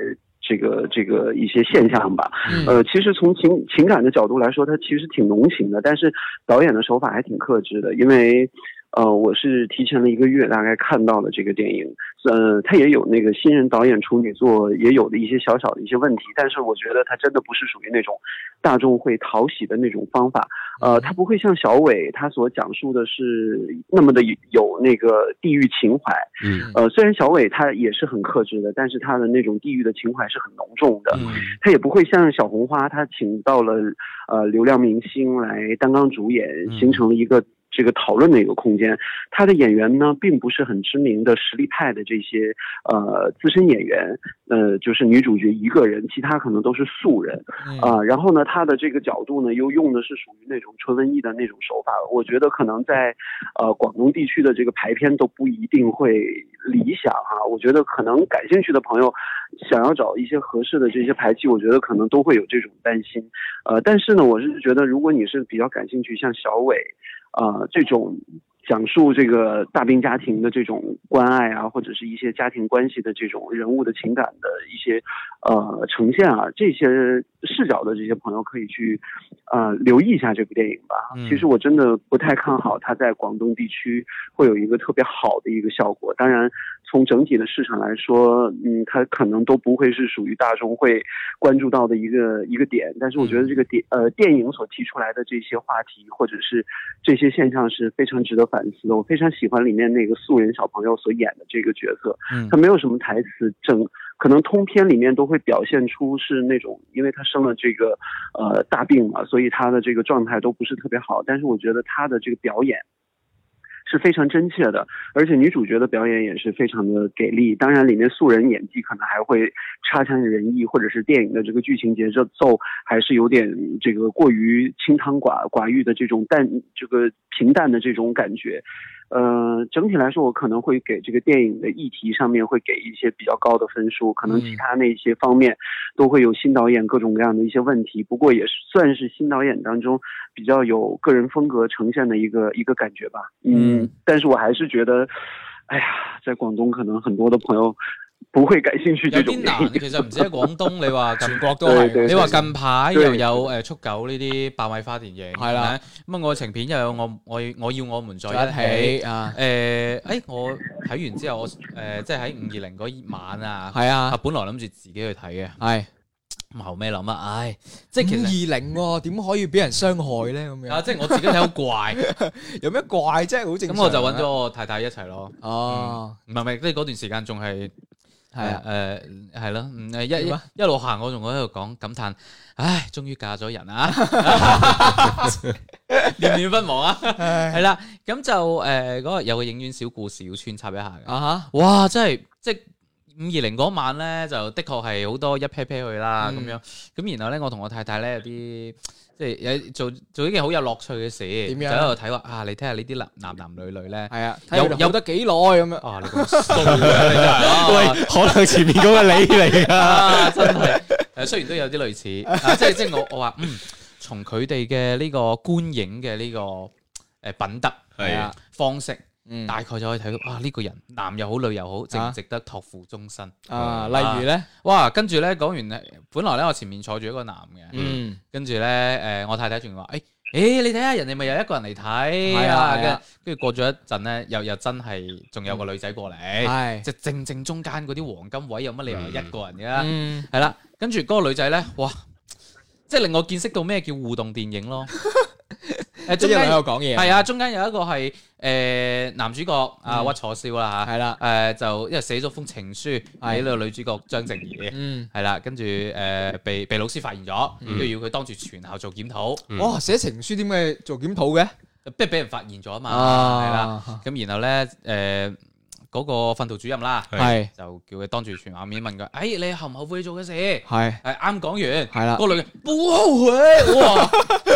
S5: 这个一些现象吧。其实从情感的角度来说，它其实挺浓情的，但是导演的手法还挺克制的，因为我是提前了1个月大概看到了这个电影，它也有那个新人导演处女作也有的一些小小的一些问题，但是我觉得它真的不是属于那种大众会讨喜的那种方法。它不会像小伟他所讲述的是那么的有那个地域情怀。虽然小伟他也是很克制的，但是他的那种地域的情怀是很浓重的。他也不会像小红花他请到了流量明星来担纲主演，形成了一个这个讨论的一个空间。他的演员呢，并不是很知名的实力派的这些资深演员，就是女主角一个人，其他可能都是素人。然后呢，他的这个角度呢，又用的是属于那种纯文艺的那种手法。我觉得可能在广东地区的这个排片都不一定会理想哈。我觉得可能感兴趣的朋友想要找一些合适的这些排期，我觉得可能都会有这种担心。但是呢，我是觉得如果你是比较感兴趣，像小伟这种讲述这个大兵家庭的这种关爱啊，或者是一些家庭关系的这种人物的情感的一些呈现啊，这些视角的这些朋友可以去留意一下这部电影吧。其实我真的不太看好它在广东地区会有一个特别好的一个效果。当然从整体的市场来说，它可能都不会是属于大众会关注到的一个点。但是我觉得这个电影所提出来的这些话题或者是这些现象是非常值得反思的。我非常喜欢里面那个素人小朋友所演的这个角色，他没有什么台词，可能通篇里面都会表现出是那种，因为他生了这个大病嘛，所以他的这个状态都不是特别好。但是我觉得他的这个表演是非常真切的，而且女主角的表演也是非常的给力。当然里面素人演技可能还会差强人意，或者是电影的这个剧情节奏还是有点这个过于清汤寡欲的这种平淡的这种感觉。整体来说我可能会给这个电影的议题上面会给一些比较高的分数，可能其他那些方面都会有新导演各种各样的一些问题，不过也算是新导演当中比较有个人风格呈现的一个感觉吧。但是我还是覺得在廣東可能很多的朋友不會感興趣這種電影。
S4: 有啲難，其實唔止喺廣東，你話全國都係。你話近排又有速狗呢啲爆米花電影，係啦。咁愛情片又有我要我們在一起啊。我睇完之後，我即係喺520嗰晚啊，係啊，本來諗住自己去睇嘅，係。後尾諗啊，即係其實
S3: 520點可以俾人傷害咧？咁樣
S4: 啊，即係我自己睇好怪，
S3: 有咩怪啫？好正常。
S4: 咁我就揾咗我太太一齊咯。哦，唔係，即係嗰段時間仲係係咯，一路行我仲喺度講感嘆，唉，終於嫁咗人啊，念念不忘啊，係啦，咁就嗰個有個影院小故事要穿插一下嘅。哇，真係即係。520嗰晚咧，就的確係好多一 pair pair 去啦，咁樣咁然後咧，我同我太太咧有啲即係有做一件好有樂趣嘅事，點樣就喺度睇話你睇下呢啲男女咧，係啊，有得幾耐咁樣啊？你咁衰嘅，
S2: 喂，可能前面嗰個你嚟㗎，
S4: 真係雖然都有啲類似，即係我話從佢哋嘅呢個觀影嘅呢個品德係啊方式。大概就可以睇到呢個人男又好女又好，值唔值得託付終身
S3: 啊？例如咧，
S4: 哇，跟住咧講完咧，本來咧我前面坐住一個男嘅，跟住咧我太太仲話你睇下人哋咪有一個人嚟睇啊，跟住過咗一陣咧，又真係仲有個女仔過嚟，即係正中間嗰啲黃金位，有乜理由一個人嘅？係啦，跟住嗰個女仔咧，哇，即係令我見識到咩叫互動電影咯。中間喺度講嘢，係啊，中間有一個係男主角屈楚蕭啦嚇，係啦，就因為寫咗封情書俾呢個女主角張靜怡，係啦，跟住被老師發現咗，都要佢當住全校做檢討。
S3: 哇！寫情書點解做檢討嘅？
S4: 不如俾人發現咗啊嘛，係啦，咁然後咧嗰個訓導主任啦，係就叫佢當住全校面問佢，你後唔後悔做嘅事？係啱講完，係啦，個女嘅冇後悔，哇！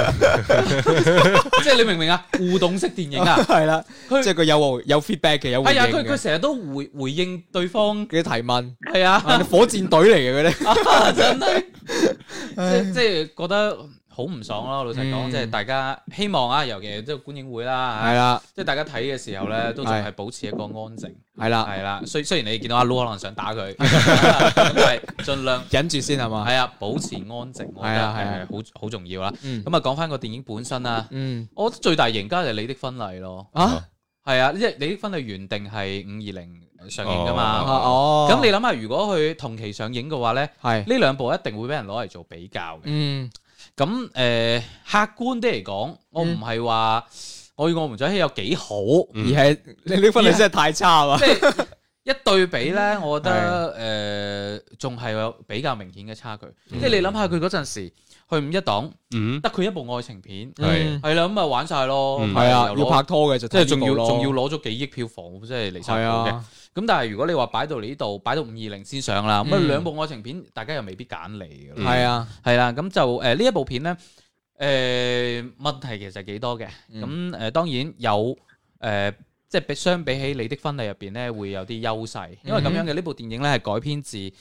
S4: 即係你明唔明啊？互動式電影啊，
S3: 係啦，即係佢有 feedback 嘅，有回應嘅。係啊，
S4: 佢成日都回應對方
S3: 嘅提問。
S4: 係啊，
S3: 火箭隊嚟嘅嗰啲，
S4: 真係，即係覺得好唔爽咯，老實講，即係大家希望啊，尤其即係觀影會啦，
S3: 係啦，
S4: 即係大家睇嘅時候咧，都仲係保持一個安靜，
S3: 係啦，
S4: 係啦。雖然你見到阿 Lu 可能想打佢，咁但係盡量
S3: 忍住先係嘛？
S4: 係啊，保持安靜，我覺得係好重要啦。咁啊，講翻個電影本身啦，我覺得最大贏家就係你的婚禮咯。啊，係啊，即係你的婚禮原定係520上映噶嘛。哦，咁你諗下，如果佢同期上映嘅話咧，呢兩部一定會俾人攞嚟做比較嘅。咁客觀啲嚟講，我唔係話我與我們在一起有幾好，
S3: 而係你呢婚禮真係太差啊！
S4: 即係一對比咧，我覺得仲係有比較明顯嘅差距。即係你諗下佢嗰陣時去5一檔，得佢一部愛情片，係啦，咁啊玩晒咯，
S3: 係啊，要拍拖嘅就
S4: 即係仲要攞咗幾億票房，即係離晒譜嘅。咁但係如果你話擺到嚟呢度，擺到520先上啦，咁啊兩部愛情片，大家又未必揀嚟嘅。
S3: 係啊，
S4: 係啦，咁就呢一部片咧，問題其實幾多嘅。咁當然有即係相比起你的婚禮入邊咧，會有啲優勢，因為咁樣嘅呢部電影咧係改編自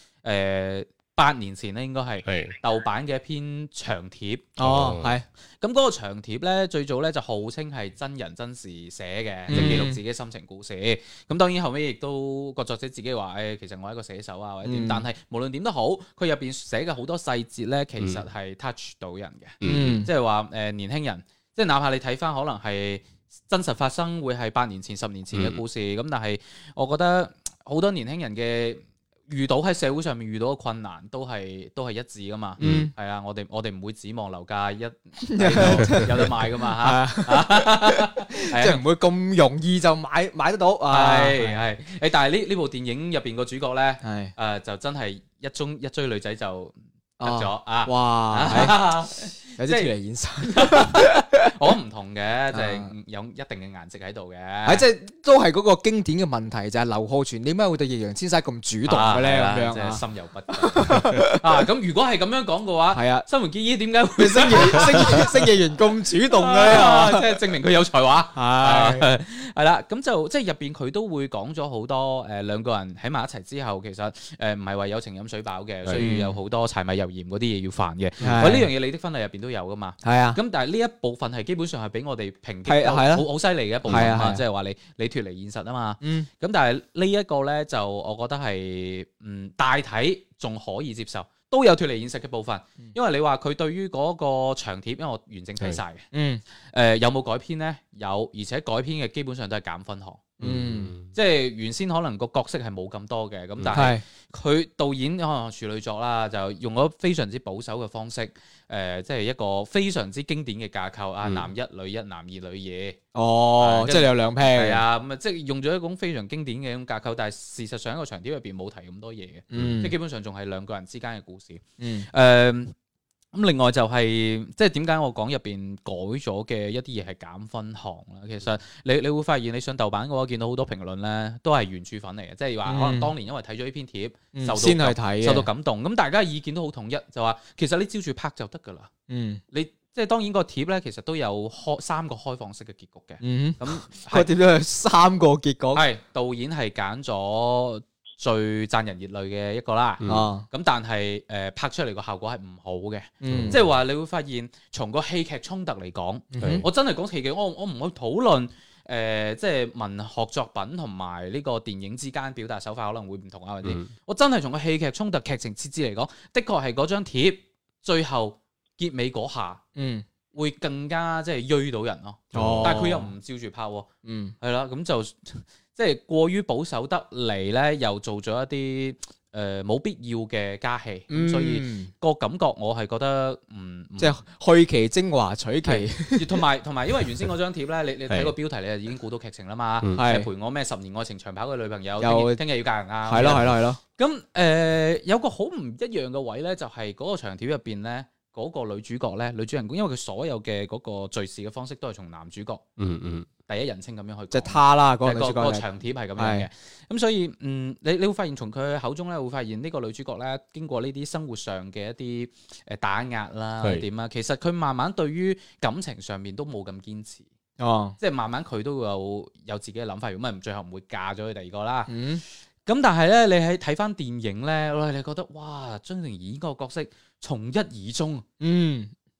S4: 8年前咧，應該係豆瓣嘅一篇長貼。
S3: 哦，係。
S4: 咁嗰個長貼咧，最早咧就號稱係真人真事寫嘅，即係記錄自己心情故事。咁當然後尾亦都個作者自己話，其實我係一個寫手啊，或者點。但係無論點都好，佢入邊寫嘅好多細節咧，其實係 touch 到人嘅。即係話年輕人，即係哪怕你睇翻可能係真實發生，會係8年前、10年前嘅故事。咁但係我覺得好多年輕人嘅遇到喺社會上面遇到嘅困難都係一致噶嘛，係啊，我哋唔會指望樓價有得賣噶嘛嚇，
S3: 即係唔會咁容易就買得到，
S4: 係但係呢部電影入邊個主角咧，就真係一追女仔就得咗啊！
S3: 哇，有啲脫離現實，
S4: 我唔同嘅，就係有一定嘅顏值喺度嘅。
S3: 即係都係嗰個經典嘅問題，就係劉浩存點解會對易烊千璽咁主動嘅咧？咁樣
S4: 即係心有不甘啊！咁如果係咁樣講嘅話，
S3: 係啊，
S4: 新垣結衣點解會
S3: 星野源咁主動嘅？
S4: 即係證明佢有才華。係啦，咁就即係入邊佢都會講咗好多兩個人喺埋一齊之後，其實唔係話有情飲水飽嘅，需要有好多柴米油鹽嗰啲嘢要煩嘅。喂，呢樣嘢你的婚禮入邊都有噶嘛？係啊。咁但係呢一部分係基本上係俾我哋評擊好犀利嘅一部分啊，即係話你脫離現實啊嘛。咁但係呢一個咧就我覺得係大體仲可以接受，都有脫離現實嘅部分。因為你話佢對於嗰個長貼，因為我完整睇晒嘅。有冇改編咧？有，而且改編嘅基本上都係減分項。即係原先可能個角色係冇咁多嘅，咁但係佢導演可能處女作啦，就用咗非常之保守嘅方式，即係一個非常之經典嘅架構啊，男一女一，男二女二。
S3: 哦，即係你有兩 pair。
S4: 係啊，咁啊，即係用咗一種非常經典嘅一種架構，但係事實上一個長貼入邊冇提咁多嘢嘅，即係基本上仲係兩個人之間嘅故事。咁另外就係即係點解我講入邊改咗嘅一啲嘢係減分項啦？其實你會發現你上豆瓣嘅話，見到好多評論咧都係原著粉嚟嘅，即係話可能當年因為睇咗呢篇貼，受到感動，咁大家意見都好統一，就話其實你照住拍就得㗎啦。你即係當然個貼咧，其實都有3個開放式嘅結局嘅。咁
S3: 個貼都有3個結局。
S4: 係導演係揀咗最賺人熱淚嘅一個啦，咁但係拍出嚟個效果係唔好嘅，即係話你會發現從個戲劇衝突嚟講，我真係講戲劇，我唔去討論即係文學作品同埋呢個電影之間表達手法可能會唔同啊，或者我真係從個戲劇衝突劇情設置嚟講，的確係嗰張貼最後結尾嗰下，會更加即係鋥到人咯，但係佢又唔照住拍，係啦，咁就。即係過於保守得嚟咧，又做咗一啲冇必要嘅加戲，所以個感覺我係覺得
S3: 即係去其精華取其，
S4: 同埋因為原先嗰張貼咧，你睇個標題你就已經估到劇情啦嘛，係陪我咩10年愛情長跑嘅女朋友，聽日要嫁人啊，
S3: 係咯。
S4: 咁有個好唔一樣嘅位咧，就係嗰個長貼入邊咧，嗰個女主角咧，女主人公，因為佢所有嘅嗰個敘事嘅方式都係從男主角第一人稱咁樣去，
S3: 即係他啦，嗰個女主角
S4: 個長貼係咁樣嘅。咁所以你會發現從佢口中咧，會發現呢個女主角咧，經過呢啲生活上嘅一啲打壓啦，點啊，其實佢慢慢對於感情上面都冇咁堅持。即係慢慢佢都有自己嘅諗法，如果唔係最後唔會嫁咗去第二個啦。咁但係咧，你喺睇翻電影咧，你覺得哇，張靜怡嗰個角色從一而終，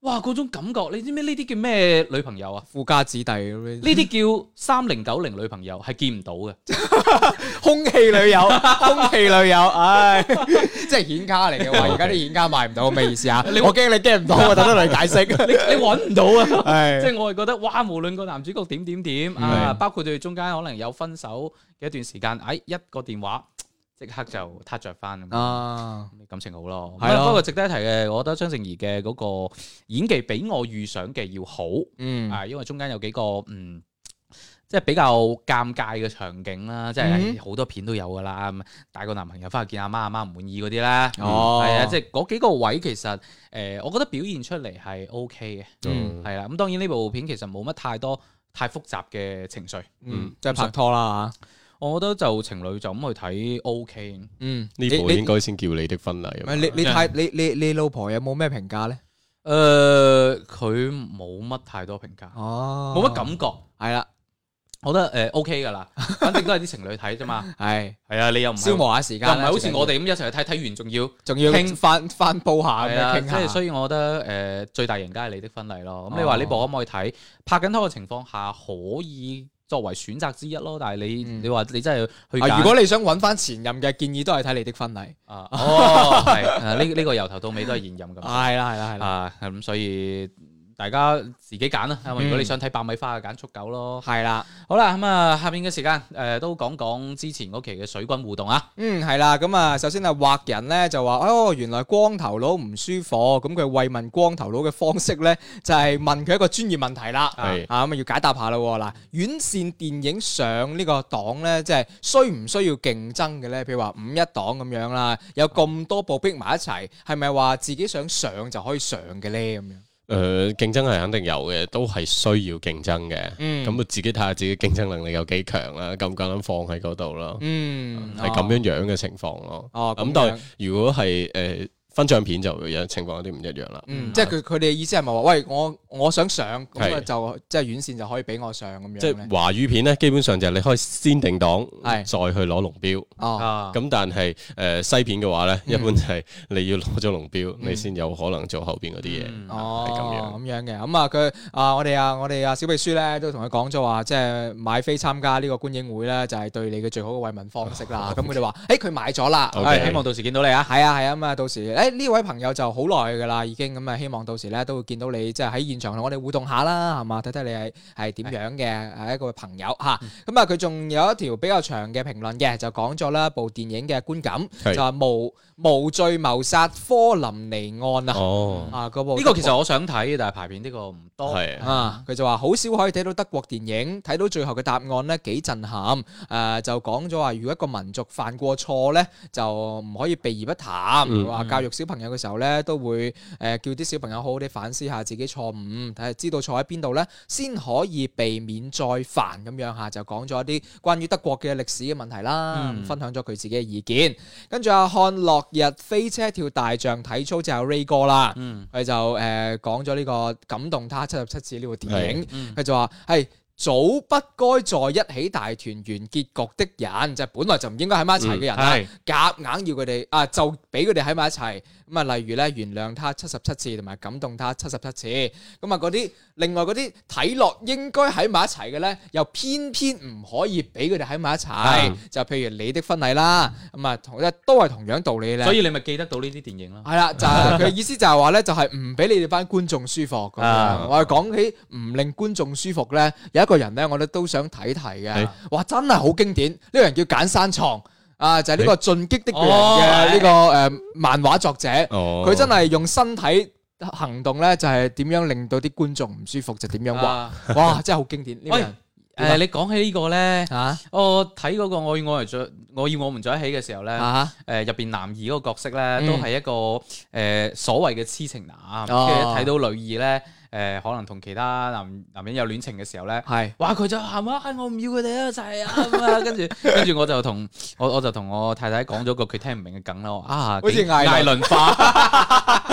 S4: 哇！嗰種感覺，你知唔知呢啲叫咩女朋友啊？
S3: 富家子弟咁樣，
S4: 呢啲叫3090女朋友，係見唔到嘅。
S3: 空氣女友，空氣女友，唉，即係顯卡嚟嘅喎。而家啲顯卡賣唔到，咩意思啊？我驚你驚唔到啊！等得你解釋，
S4: 你揾唔到啊！即係我係覺得，哇！無論個男主角點啊，包括佢哋中間可能有分手嘅一段時間，一個電話。即刻就撻着翻咁，感情好咯。係咯，不過值得一提嘅，我覺得張靜怡嘅嗰個演技比我預想嘅要好。因為中間有幾個即係比較尷尬嘅場景啦，即係好多片都有噶啦。帶個男朋友翻去見阿媽唔滿意嗰啲咧，係啊，即係嗰幾個位其實我覺得表現出嚟係 OK 嘅。係啦，咁當然呢部片其實冇乜太複雜嘅情緒。
S3: 即係拍拖啦嚇。
S4: 我覺得就情侶就咁去睇 OK。
S2: 呢部應該先叫你的婚禮。
S3: 唔係你老婆有冇咩評價咧？
S4: 佢冇乜太多評價，冇乜感覺。係啦，我覺得OK 噶啦，反正都係啲情侶睇啫嘛。係啊，你又唔
S3: 消磨下時間，
S4: 又唔係好似我哋咁一齊去睇完仲要
S3: 傾翻煲下咁樣傾下。
S4: 即係所以我覺得最大贏家係你的婚禮咯。咁你話呢部可唔可以睇？拍緊拖嘅情況下可以作為選擇之一咯，但係你話你真係去
S3: 如果你想揾翻前任嘅建議，都係睇你的婚禮。
S4: 係呢個由頭到尾都係現任咁。係啦，咁所以大家自己揀啦。如果你想睇爆米花，揀速狗咯。係啦，好啦，咁啊，下面嘅時間都講講之前嗰期嘅水軍互動啊。係啦，咁啊，首先啊，畫人咧就話原來光頭佬唔舒服，咁佢慰問光頭佬嘅方式咧就係問佢一個專業問題啦。咁啊要解答下啦。嗱，院線電影上呢個檔咧，即係需唔需要競爭嘅咧？譬如話5-1檔咁樣啦，有咁多部逼埋一齊，係咪話自己想上就可以上嘅咧？咁樣？
S2: 競爭係肯定有嘅，都係需要競爭嘅。咁自己睇下自己競爭能力有幾強啦，夠唔夠膽放喺嗰度咯。係咁樣嘅情況咯。咁但係如果係分賬片就有情況有啲唔一樣啦。
S3: 即係佢哋嘅意思係咪話，喂，我想上咁就即係院線就可以俾我上咁樣？
S2: 即係華語片咧，基本上就係你可以先定檔，再去攞龍標。咁但係西片嘅話咧，一般就係你要攞咗龍標，你先有可能做後邊嗰啲嘢。係咁
S3: 樣嘅。咁啊，我哋啊小秘書咧都同佢講咗話，即係買飛參加呢個觀影會咧，就係對你嘅最好嘅慰問方式啦。咁佢哋話，佢買咗啦，希望到時見到你啊。係啊，咁啊，到時。呢位朋友就好耐㗎啦，已經咁啊，希望到時咧都會見到你，即係喺現場同我哋互動下啦，係嘛？睇睇你係點樣嘅係一個朋友嚇。咁啊，佢仲有一條比較長嘅評論嘅，就講咗啦部電影嘅觀感，就話無罪謀殺科林尼案啊。嗰部呢個
S4: 其實我想睇，但係排片呢個唔多。
S3: 佢就話好少可以睇到德國電影，睇到最後嘅答案咧幾震撼。就講咗話，如果一個民族犯過錯咧，就唔可以避而不談。話教育小朋友嘅時候咧，都會叫啲小朋友好好地反思下自己錯誤，睇下知道錯喺邊度咧，先可以避免再犯咁樣嚇。就講咗一啲關於德國嘅歷史嘅問題啦，分享咗佢自己嘅意見。跟住看落日飛車跳大象體操就有 Ray 哥啦，佢就講咗呢個感動他77次呢部電影，佢就話係早不該在一起大團圓結局的人，就係本來就唔應該喺埋一齊嘅人啦，夾硬要佢哋就俾佢哋喺埋一齊。咁啊，例如咧原諒他77次，同埋感動他77次。咁啊，嗰啲另外嗰啲睇落應該喺埋一齊嘅咧，又偏偏唔可以俾佢哋喺埋一齊。就譬如你的婚禮啦，咁啊都係同樣道理咧。
S4: 所以你咪記得到呢啲電影咯。
S3: 係啦，就係佢意思就係話咧，就係唔俾你哋班觀眾舒服咁樣。我哋講起唔令觀眾舒服咧，有一個人咧，我哋都想睇嘅。哇，真係好經典！呢個人叫簡山創。就係呢個進擊的巨人嘅呢個漫畫作者，佢真係用身體行動咧，就係點樣令到啲觀眾唔舒服就點樣畫，哇！真係好經典呢個人。
S4: 你講起呢個咧，我睇嗰個我要我們在一起嘅時候咧，入邊男二嗰個角色咧，都係一個所謂嘅痴情男，跟住睇到女二咧。可能同其他男人有戀情嘅時候咧，哇佢就喊啊，我唔要佢哋一齊啊，跟住我就同我太太講咗個佢聽唔明嘅梗咯，好似艾倫化，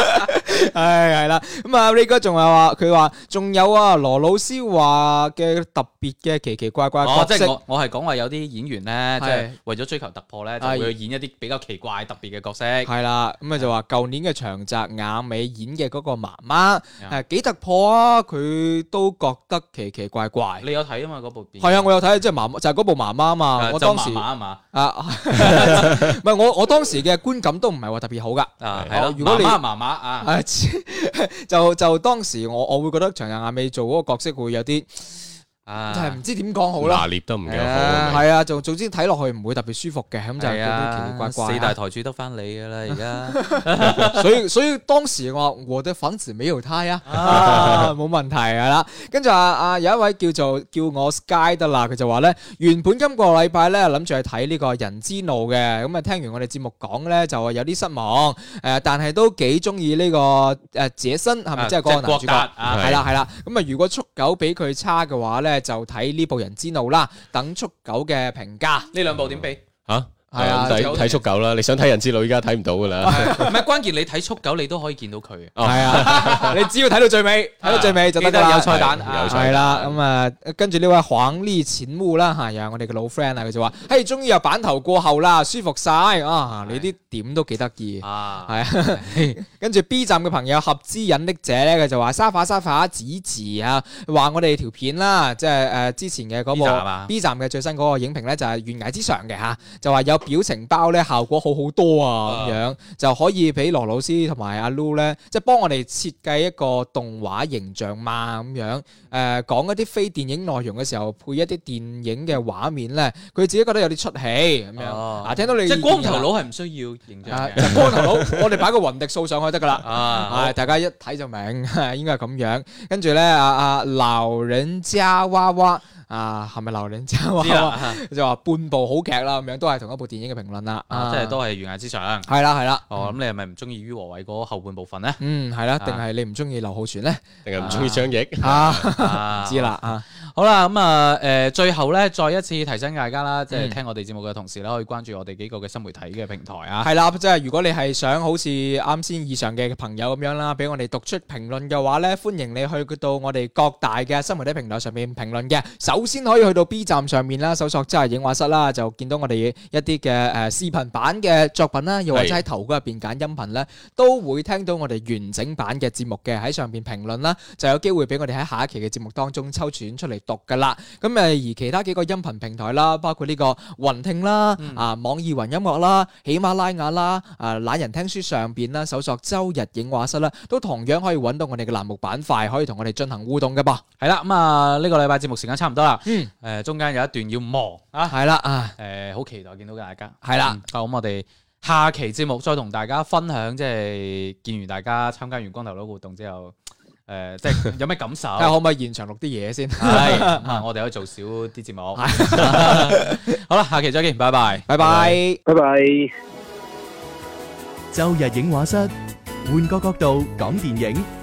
S3: 係啦，咁啊 Ray 哥仲係話佢話仲有啊羅老師話嘅特別嘅奇奇怪怪角色，
S4: 即係我係講話有啲演員咧，即係為咗追求突破咧，就會演一啲比較奇怪特別嘅角色。
S3: 係啦，咁啊就話舊年嘅長澤雅美演嘅嗰個媽媽係幾突破啊，佢都覺得奇奇怪怪。
S4: 你有睇啊嘛嗰部電影？
S3: 係啊，我有睇，即係媽就係嗰部媽媽啊嘛。我當時
S4: 媽媽啊嘛，
S3: 唔係我當時嘅觀感都唔係話特別好噶。
S4: 係咯，
S3: 如果你
S4: 媽媽啊，
S3: 就當時我會覺得長澤雅美做嗰個角色會有啲。就係唔知點講好啦，
S2: 拿捏得唔幾好。
S3: 係啊，總之睇落去唔會特別舒服嘅，咁就有啲奇奇怪怪。
S4: 四大台柱得翻你㗎啦，而
S3: 家。所以當時我的粉絲沒有他呀，冇問題係啦。跟住有一位叫我 Sky 得啦，佢就話咧，原本今個禮拜咧諗住去睇呢個人之怒嘅，咁啊聽完我哋節目講咧就有啲失望，但係都幾中意呢個傑森係咪即係嗰個男主角？係啦，咁啊如果速九比佢差嘅話咧。就睇呢部人之怒啦，等速九嘅評價。
S4: 呢兩部點比？
S2: 係啊，睇速九啦！你想睇人之怒，依家睇唔到噶啦。
S4: 唔係關鍵，你睇速九，你都可以見到佢。
S3: 係啊，你只要睇到最尾，就得啦。
S4: 有彩蛋，
S3: 係啦。咁啊，跟住呢位黃呢淺烏啦嚇，又係我哋嘅老 friend 啊，佢就話：嘿，終於又版頭過後啦，舒服晒啊！你啲點都幾得意啊，係啊。跟住 B 站嘅朋友合之隱匿者咧，佢就話：沙發子啊，話我哋條片啦，即係之前嘅嗰部 B 站嘅最新嗰個影評咧，就係懸崖之上嘅嚇，就話有表情包咧效果好多啊，咁樣就可以俾羅老師同埋阿 Lu 咧，即係幫我哋設計一個動畫形象嘛，咁樣講一啲非電影內容嘅時候，配一啲電影嘅畫面咧，佢自己覺得有啲出戲咁樣。聽到你
S4: 即係光頭佬係唔需要形象嘅，
S3: 光頭佬我哋擺個雲迪素上去得噶啦，大家一睇就明，應該係咁樣。跟住咧老人家娃娃。係咪流人之後就話半部好劇啦，咁樣都係同一部電影嘅評論啦，
S4: 即係都係懸崖之上。
S3: 係啦。
S4: 咁你係咪唔中意于和偉嗰後半部分咧？
S3: 係啦，定係你唔中意劉浩存咧？
S2: 定係唔中意張譯？
S3: 唔知啦。
S4: 好啦，咁最後咧，再一次提醒大家啦，即係聽我哋節目嘅同時咧，可以關注我哋幾個嘅新媒體嘅平台啊。
S3: 係啦，即係如果你係想好似啱先以上嘅朋友咁樣啦，俾我哋讀出評論嘅話咧，歡迎你去到我哋各大嘅新媒體平台上面評論嘅。首先可以去到 B 站上面啦，搜索真係影畫室啦，就見到我哋一啲嘅視頻版嘅作品啦，又或者喺頭嗰入邊揀音頻咧，都會聽到我哋完整版嘅節目嘅，喺上邊評論啦，就有機會俾我哋喺下一期嘅節目當中抽選出嚟讀噶啦。咁而其他幾個音頻平台啦，包括呢個雲聽啦、網易雲音樂啦、喜馬拉雅啦、懶人聽書上邊啦，搜索周日影畫室啦，都同樣可以揾到我哋嘅欄目板塊，可以同我哋進行互動嘅噃。係啦，咁呢個禮拜節目時間差唔多啦。中間有一段要忙係啦好期待見到大家，係啦。咁我哋下期節目再同大家分享，即係見完大家參加完光頭佬活動之後，即係有咩感受？睇下可唔可以現場錄啲嘢先？係，我哋可以做少啲節目。好啦，下期再見，拜拜，拜拜，
S5: 拜拜。
S10: 周日影畫室，換個角度講電影。